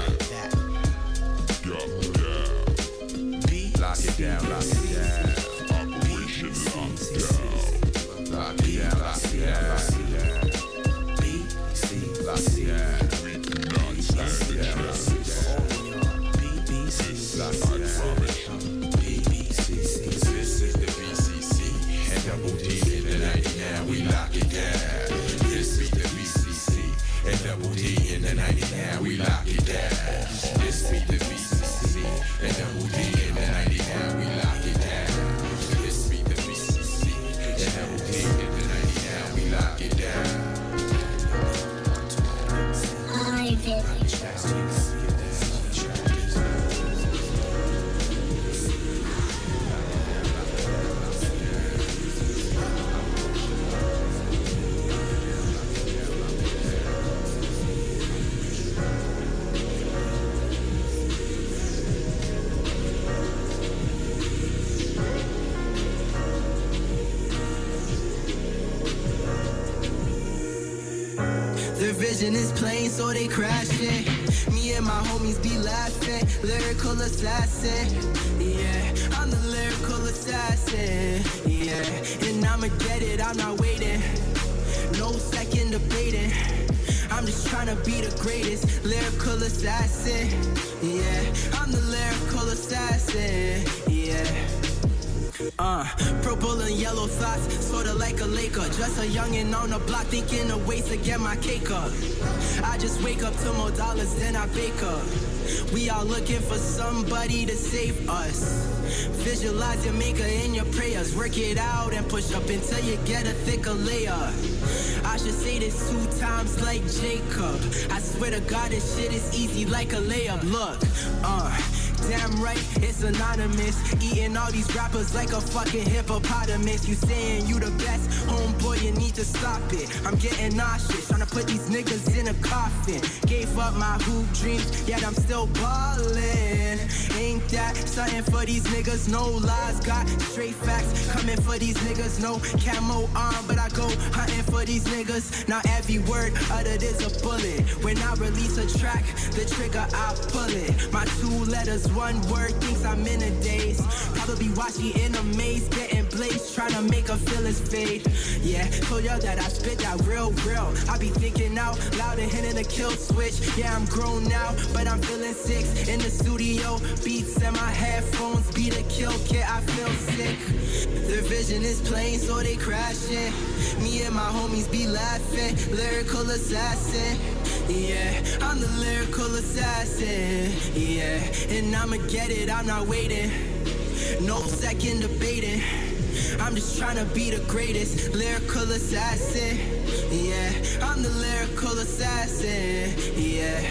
Lock it down, lock it down. Operation Lockdown. Lock it down, lock it down, lock it down. B C lock it down. We do not stand a chance. B B C lock it down. B B C. This is the B C C, and double D in the ninety now, we lock it down. This is the B C C, and double D in the ninety now, we lock it down. This is the B C C, and double D in the ninety now, we lock it down. This be the B C C, and double D in the ninety now, we lock it down. Their vision is plain, so they crashing. Me and my homies be laughing. Lyrical assassin. Yeah, I'm the lyrical assassin. Yeah, and I'ma get it, I'm not waiting. No second debating. I'm just trying to be the greatest lyrical assassin. Yeah, I'm the lyrical assassin. Yeah. Uh, purple and yellow thoughts, sorta like a Laker. Just a youngin' on the block, thinking of ways to get my cake up. I just wake up to more dollars than I bake up. We all looking for somebody to save us. Visualize your maker in your prayers. Work it out and push up until you get a thicker layer. I should say this two times like Jacob. I swear to God this shit is easy like a layup. Look, uh damn right, it's anonymous. Eating all these rappers like a fucking hippopotamus. You saying you the best, homeboy, you need to stop it. I'm getting nauseous, trying to put these niggas in a coffin. Gave up my hoop dreams, yet I'm still ballin'. Ain't that something for these niggas? No lies, got straight facts coming for these niggas. No camo arm, but I go hunting for these niggas. Now every word uttered is a bullet. When I release a track, the trigger I pull it. My two letters, one word, thinks I'm in a daze. Probably watching in a maze, getting blazed, trying to make a feel his fade. Yeah, told y'all that I spit that real, real. I be thinking out loud and hitting the kill switch. Yeah, I'm grown now, but I'm feeling six in the studio. Beats and my headphones beat a kill kit. I feel sick. Their vision is plain, so they crashing. Me and my homies be laughing. Lyrical assassin. Yeah, I'm the lyrical assassin. Yeah, and I'ma get it. I'm not waiting. No second debating. I'm just trying to be the greatest lyrical assassin. Yeah, I'm the lyrical assassin. Yeah.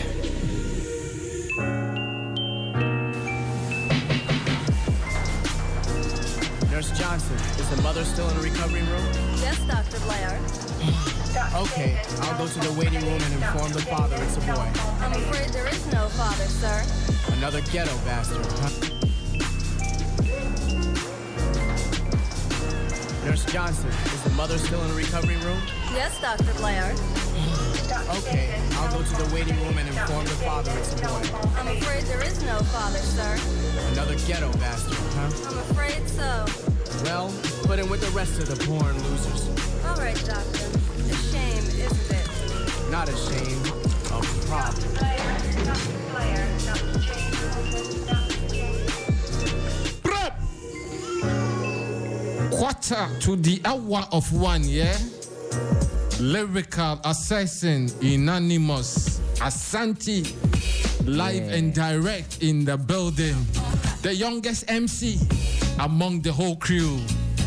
Nurse Johnson, is the mother still in the recovery room? Yes, Doctor Blair. Okay, I'll go to the waiting room and inform the father it's a boy. I'm afraid there is no father, sir. Another ghetto bastard, huh? Nurse Johnson, is the mother still in the recovery room? Yes, Doctor Blair. Okay, I'll go to the waiting room and inform the father it's a boy. I'm afraid there is no father, sir. Another ghetto bastard, huh? I'm afraid so. Well, put him with the rest of the born losers. All right, Doctor. A shame, isn't it? Not a shame, a problem. Quarter to the hour of one, yeah? Lyrical assassin, Unanimous, Asante, live Yeah. and direct in the building. The youngest M C among the whole crew.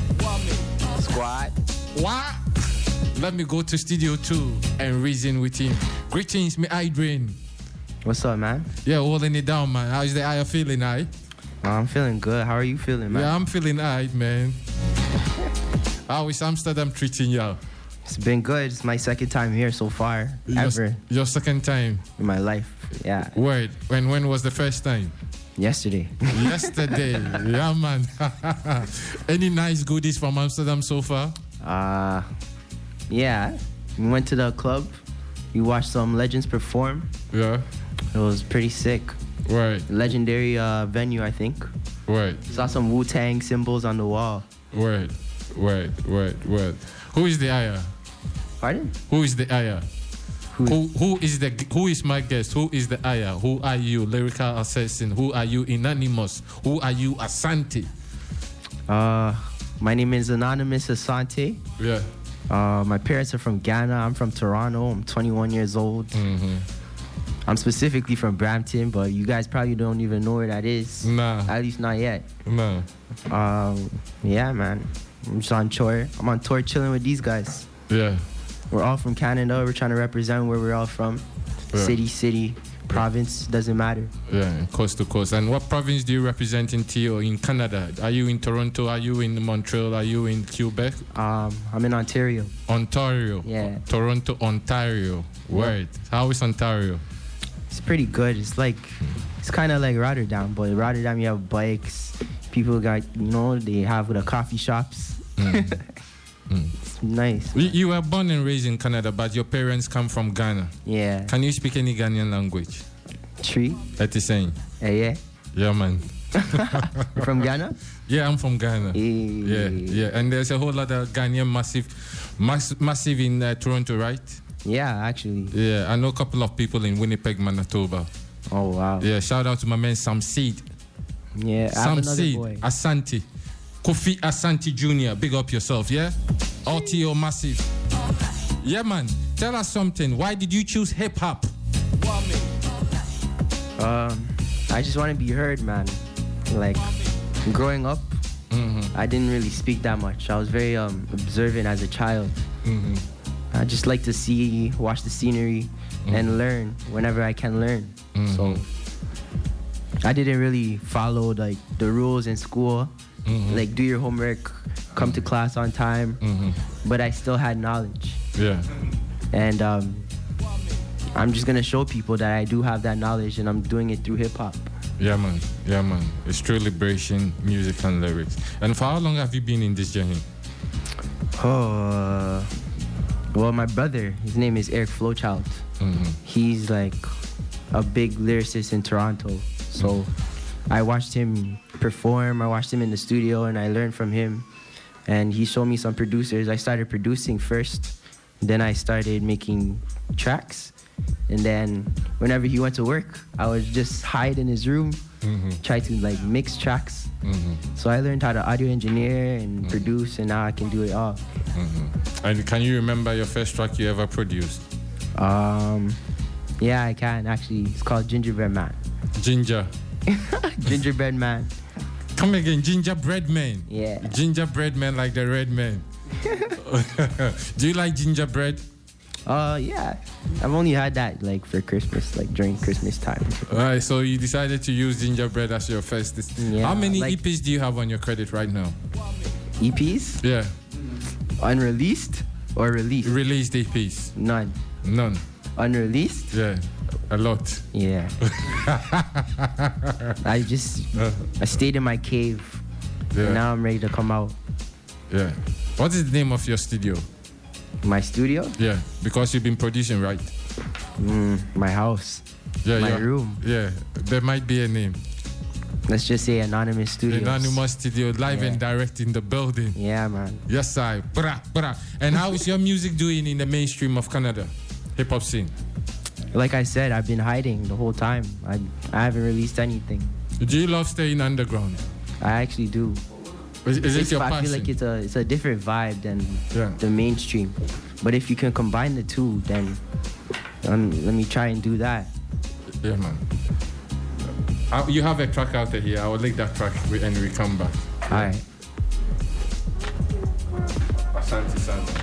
Squad. What? Let me go to studio two and reason with him. Greetings, me Idrin. What's up, man? Yeah, holding it down, man. How's the eye feeling, I? Oh, I'm feeling good. How are you feeling, man? Yeah, I'm feeling alright, man. How is Amsterdam treating you? It's been good. It's my second time here so far, Your, ever your second time in my life. Yeah. Word. When when was the first time? Yesterday. Yesterday. Yeah, man. Any nice goodies from Amsterdam so far? Uh, yeah. We went to the club. We watched some legends perform. Yeah. It was pretty sick. Right. Legendary uh, venue, I think. Right. Saw some Wu-Tang symbols on the wall. Word. Word. Word. Word. Who is the Aya? Pardon? Who is the Aya? Who, who who is the who is my guest? Who is the Aya? Who are you, lyrical assassin? Who are you, Unanimous? Who are you, Asante? Uh, my name is Anonymous Asante. Yeah. Uh, my parents are from Ghana. I'm from Toronto. I'm twenty-one years old. Mm-hmm. I'm specifically from Brampton, but you guys probably don't even know where that is. Nah. At least not yet. Nah. Um, yeah, man. I'm just on tour. I'm on tour chilling with these guys. Yeah. We're all from Canada. We're trying to represent where we're all from. Yeah. City, city, province, doesn't matter. Yeah, coast to coast. And what province do you represent in T O in Canada? Are you in Toronto? Are you in Montreal? Are you in Quebec? Um, I'm in Ontario. Ontario. Yeah. Toronto, Ontario. Word. How is Ontario? It's pretty good. It's like, it's kind of like Rotterdam, but in Rotterdam you have bikes. People got, you know, they have the coffee shops. Mm. mm. It's nice. You, you were born and raised in Canada, but your parents come from Ghana. Yeah. Can you speak any Ghanaian language? Tree. That is saying. Yeah, yeah. Yeah, man. You're from Ghana? Yeah, I'm from Ghana. Hey. Yeah, yeah. And there's a whole lot of Ghanaian massive, mass, massive in uh, Toronto, right? Yeah, actually. Yeah, I know a couple of people in Winnipeg, Manitoba. Oh, wow. Yeah, shout out to my man Sam Seed. Yeah, I have Sam another Seed, boy. Asante. Kofi Asante Junior Big up yourself, yeah? All T O massive. Yeah, man. Tell us something. Why did you choose hip hop? Um, I just want to be heard, man. Like, growing up, mm-hmm. I didn't really speak that much. I was very um, observant as a child. Mm-hmm. I just like to see, watch the scenery, mm-hmm. and learn whenever I can learn. Mm-hmm. So, I didn't really follow like the rules in school. Mm-hmm. Like do your homework, come to class on time. Mm-hmm. But I still had knowledge. Yeah. And um, I'm just gonna show people that I do have that knowledge, and I'm doing it through hip hop. Yeah, man. Yeah, man. It's true liberation, music and lyrics. And for how long have you been in this journey? Oh, uh, well, my brother, his name is Eric Flowchild. Mm-hmm. He's like a big lyricist in Toronto. So mm-hmm. I watched him perform. I watched him in the studio, and I learned from him. And he showed me some producers. I started producing first. Then I started making tracks. And then whenever he went to work, I would just hide in his room, mm-hmm. try to like mix tracks. Mm-hmm. So I learned how to audio engineer and mm-hmm. produce, and now I can do it all. Mm-hmm. And can you remember your first track you ever produced? Um, yeah, I can actually. It's called Gingerbread Man. Ginger. Gingerbread Man. Come again, Gingerbread Man. Yeah. Gingerbread Man like the red man. Do you like gingerbread? Uh, yeah. I've only had that like for Christmas, like during Christmas time. Alright, so you decided to use gingerbread as your first. Yeah, How many like, E Ps do you have on your credit right now? E Ps? Yeah. Unreleased or released? Released E Ps. None. None. Unreleased? Yeah. A lot. Yeah. I just I stayed in my cave. Yeah. And now I'm ready to come out. Yeah. What is the name of your studio? My studio? Yeah, because you've been producing, right? Mm, my house. Yeah, my yeah. room. Yeah, there might be a name. Let's just say Anonymous Studios. Anonymous Studio, live yeah. and direct in the building. Yeah, man. Yes, I. Bra, bra. And how is your music doing in the mainstream of Canada? Hip-hop scene? Like I said, I've been hiding the whole time. I, I haven't released anything. Do you love staying underground? I actually do. Is, is it your I passion? feel like it's a it's a different vibe than yeah. the mainstream. But if you can combine the two, then um, let me try and do that. Yeah, man. Uh, you have a track out here. I will link that track and we come back. All right. Asante Santa.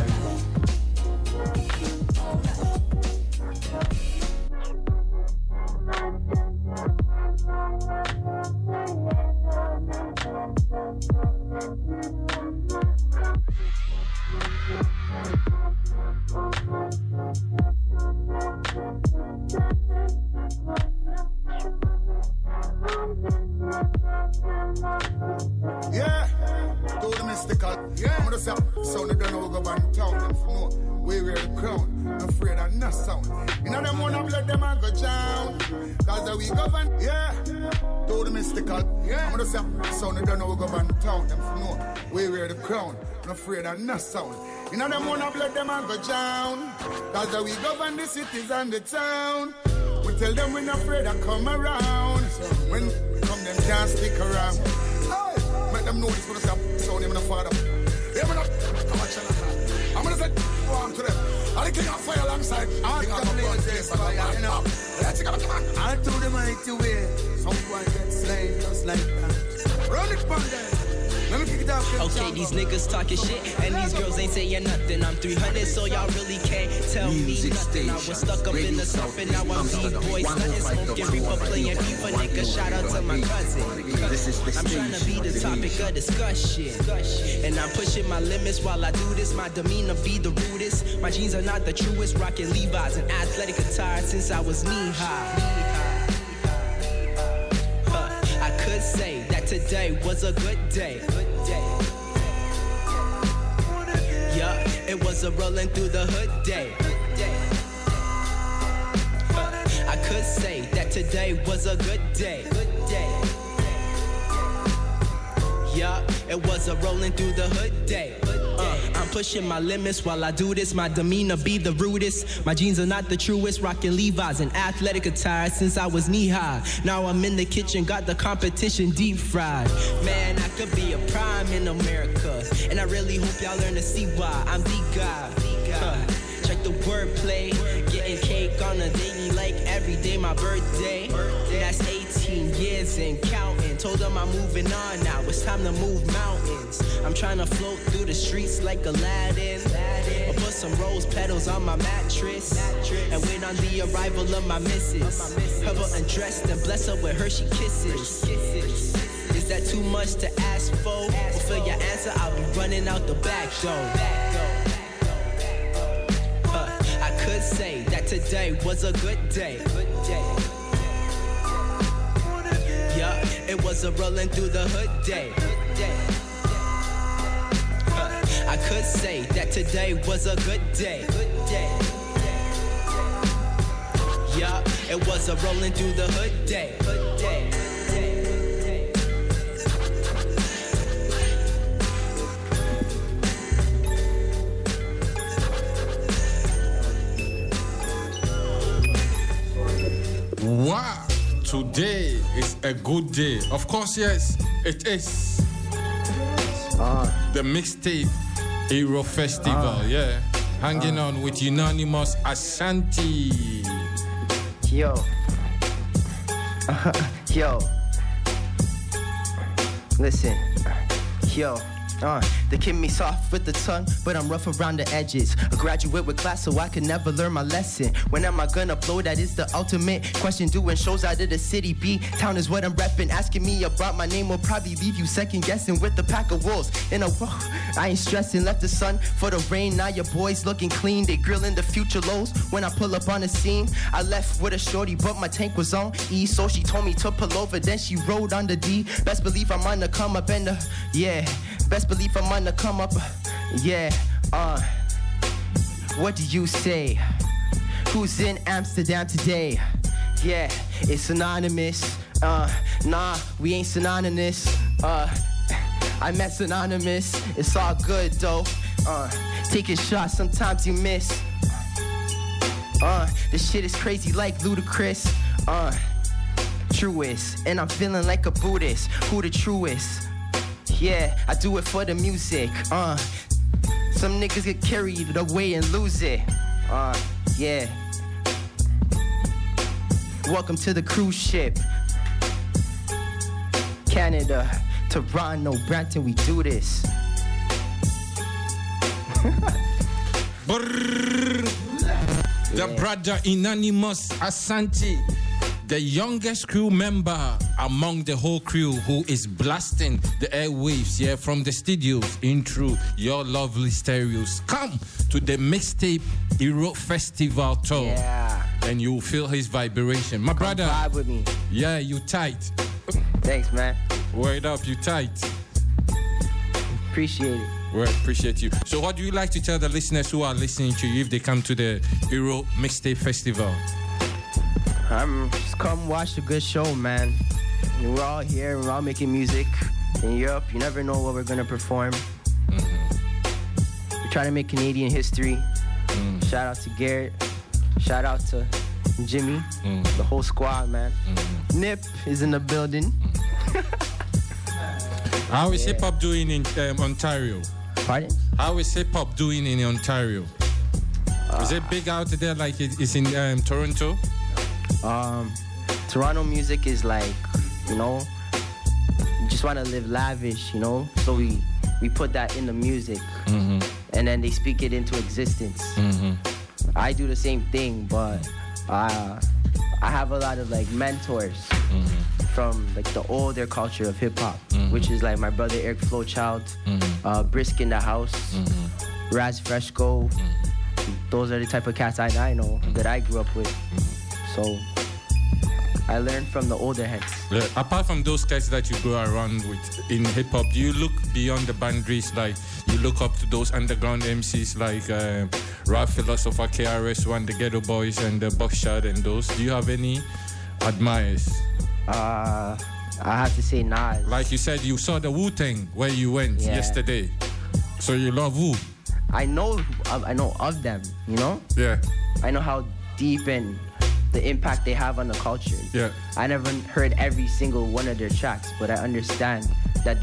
Yeah, do the mystical. Yeah, I'm gonna say, sound of the no go van town. Them for know we wear the crown. I'm afraid of no sound. You know them wanna blood them and go down. Cause we govern. Yeah, do the mystical. Yeah, I'm gonna say, sound of the no go van town. Them for know we wear the crown. I'm afraid of no sound. You know them wanna blood them and go down. Cause we govern the cities and the town. We tell them we're not afraid to come around. When we come, them can't stick around. Hey, make them know this gonna stop. So them in the father. Yeah, man, I'm a channel. I'm gonna say warm to them. I'm the king of fire alongside. I'm the king of place. Let's go, come on. I told them I to wear. Someone get slain just like that. Run it, bandit. Okay, these niggas talking shit, and these girls ain't saying nothing. I'm three hundred, so y'all really can't tell me nothing. I was stuck up in the stuff, and now I'm B-boy, stunting, smoking, reaper, playing FIFA, nigga. Shout out to my cousin. I'm trying to be the topic of discussion, and I'm pushing my limits while I do this. My demeanor be the rudest. My jeans are not the truest. Rocking Levi's and athletic attire since I was knee high. Huh, I could say that today was a good day. Yeah, it was a rolling through the hood day. Uh, I could say that today was a good day. Yeah, it was a rolling through the hood day. Uh, I'm pushing my limits while I do this. My demeanor be the rudest. My jeans are not the truest. Rocking Levi's and athletic attire since I was knee high. Now I'm in the kitchen, got the competition deep fried. Man, I could be a prime in America, and I really hope y'all learn to see why I'm the guy. Uh, check the wordplay, getting cake on a daily like every day my birthday. That's eighteen. eighteen years and counting. Told them I'm moving on now. It's time to move mountains. I'm trying to float through the streets like Aladdin. Or put some rose petals on my mattress. And wait on the arrival of my missus. Have her undressed and bless her with Hershey kisses. Is that too much to ask for? Fulfill your answer, I'll be running out the back door. Uh, I could say that today was a good day. Yeah, it was a rolling through the hood day. Uh, I could say that today was a good day. Yeah, it was a rolling through the hood day. Wow, today is a good day. Of course, yes, it is. Uh, the mixtape Hero Festival, uh, yeah. Hanging uh, on with Unanimous Ashanti. Yo. Yo. Listen. Yo. Uh, they keep me soft with the tongue, but I'm rough around the edges. A graduate with class, so I can never learn my lesson. When am I gonna blow? That is the ultimate question. Doing shows out of the city, B town is what I'm repping. Asking me about my name will probably leave you second guessing with the pack of wolves. In a whoa, I ain't stressing. Left the sun for the rain. Now your boys looking clean. They grilling the future lows. When I pull up on the scene, I left with a shorty, but my tank was on E. So she told me to pull over, then she rode on the D. Best believe I'm on the come up and the yeah. Best believe I'm on the come up, yeah, uh, what do you say? Who's in Amsterdam today? Yeah, it's anonymous, uh, nah, we ain't synonymous, uh, I met synonymous, it's all good though, uh, taking shots, sometimes you miss, uh, this shit is crazy like ludicrous, uh, truest, and I'm feeling like a Buddhist, who the truest? Yeah, I do it for the music, uh some niggas get carried away and lose it, uh, yeah. Welcome to the cruise ship. Canada, Toronto, Brampton, we do this. The brother Unanimous Ashanti, the youngest crew member among the whole crew, who is blasting the airwaves, yeah, from the studios in through your lovely stereos. Come to the mixtape Hero Festival tour, yeah, and you'll feel his vibration. My Come brother, vibe with me. Yeah, you tight. Thanks, man. Word up, you tight. Appreciate it. Well, appreciate you. So what do you like to tell the listeners who are listening to you if they come to the Hero Mixtape Festival? Um, just come watch a good show, man. We're all here, we're all making music in Europe. You never know what we're gonna perform. Mm-hmm. We're trying to make Canadian history. Mm. Shout out to Garrett. Shout out to Jimmy. Mm. The whole squad, man. Mm. Nip is in the building. How is yeah. hip hop doing in um, Ontario? Pardon? How is hip hop doing in Ontario? Uh, is it big out there like it is in um, Toronto? Um, Toronto music is like, you know, you just want to live lavish, you know? So we, we put that in the music, mm-hmm. and then they speak it into existence. Mm-hmm. I do the same thing, but uh, I have a lot of like mentors mm-hmm. from like the older culture of hip hop, mm-hmm. which is like my brother Eric Flowchild, mm-hmm. uh, Brisk in the House, mm-hmm. Raz Freshco. Mm-hmm. Those are the type of cats I, I know mm-hmm. that I grew up with. Mm-hmm. So I learned from the older heads. Yeah, apart from those guys that you go around with in hip hop, do you look beyond the boundaries? Like you look up to those underground M Cs like uh, Rap Philosopher, K R S One, the Ghetto Boys, and the Buckshot, and those. Do you have any admirers? Uh, I have to say Nas. Like you said, you saw the Wu-Tang where you went yeah. yesterday. So you love Wu. I know, I know of them. You know. Yeah. I know how deep and the impact they have on the culture. Yeah. I never heard every single one of their tracks, but I understand that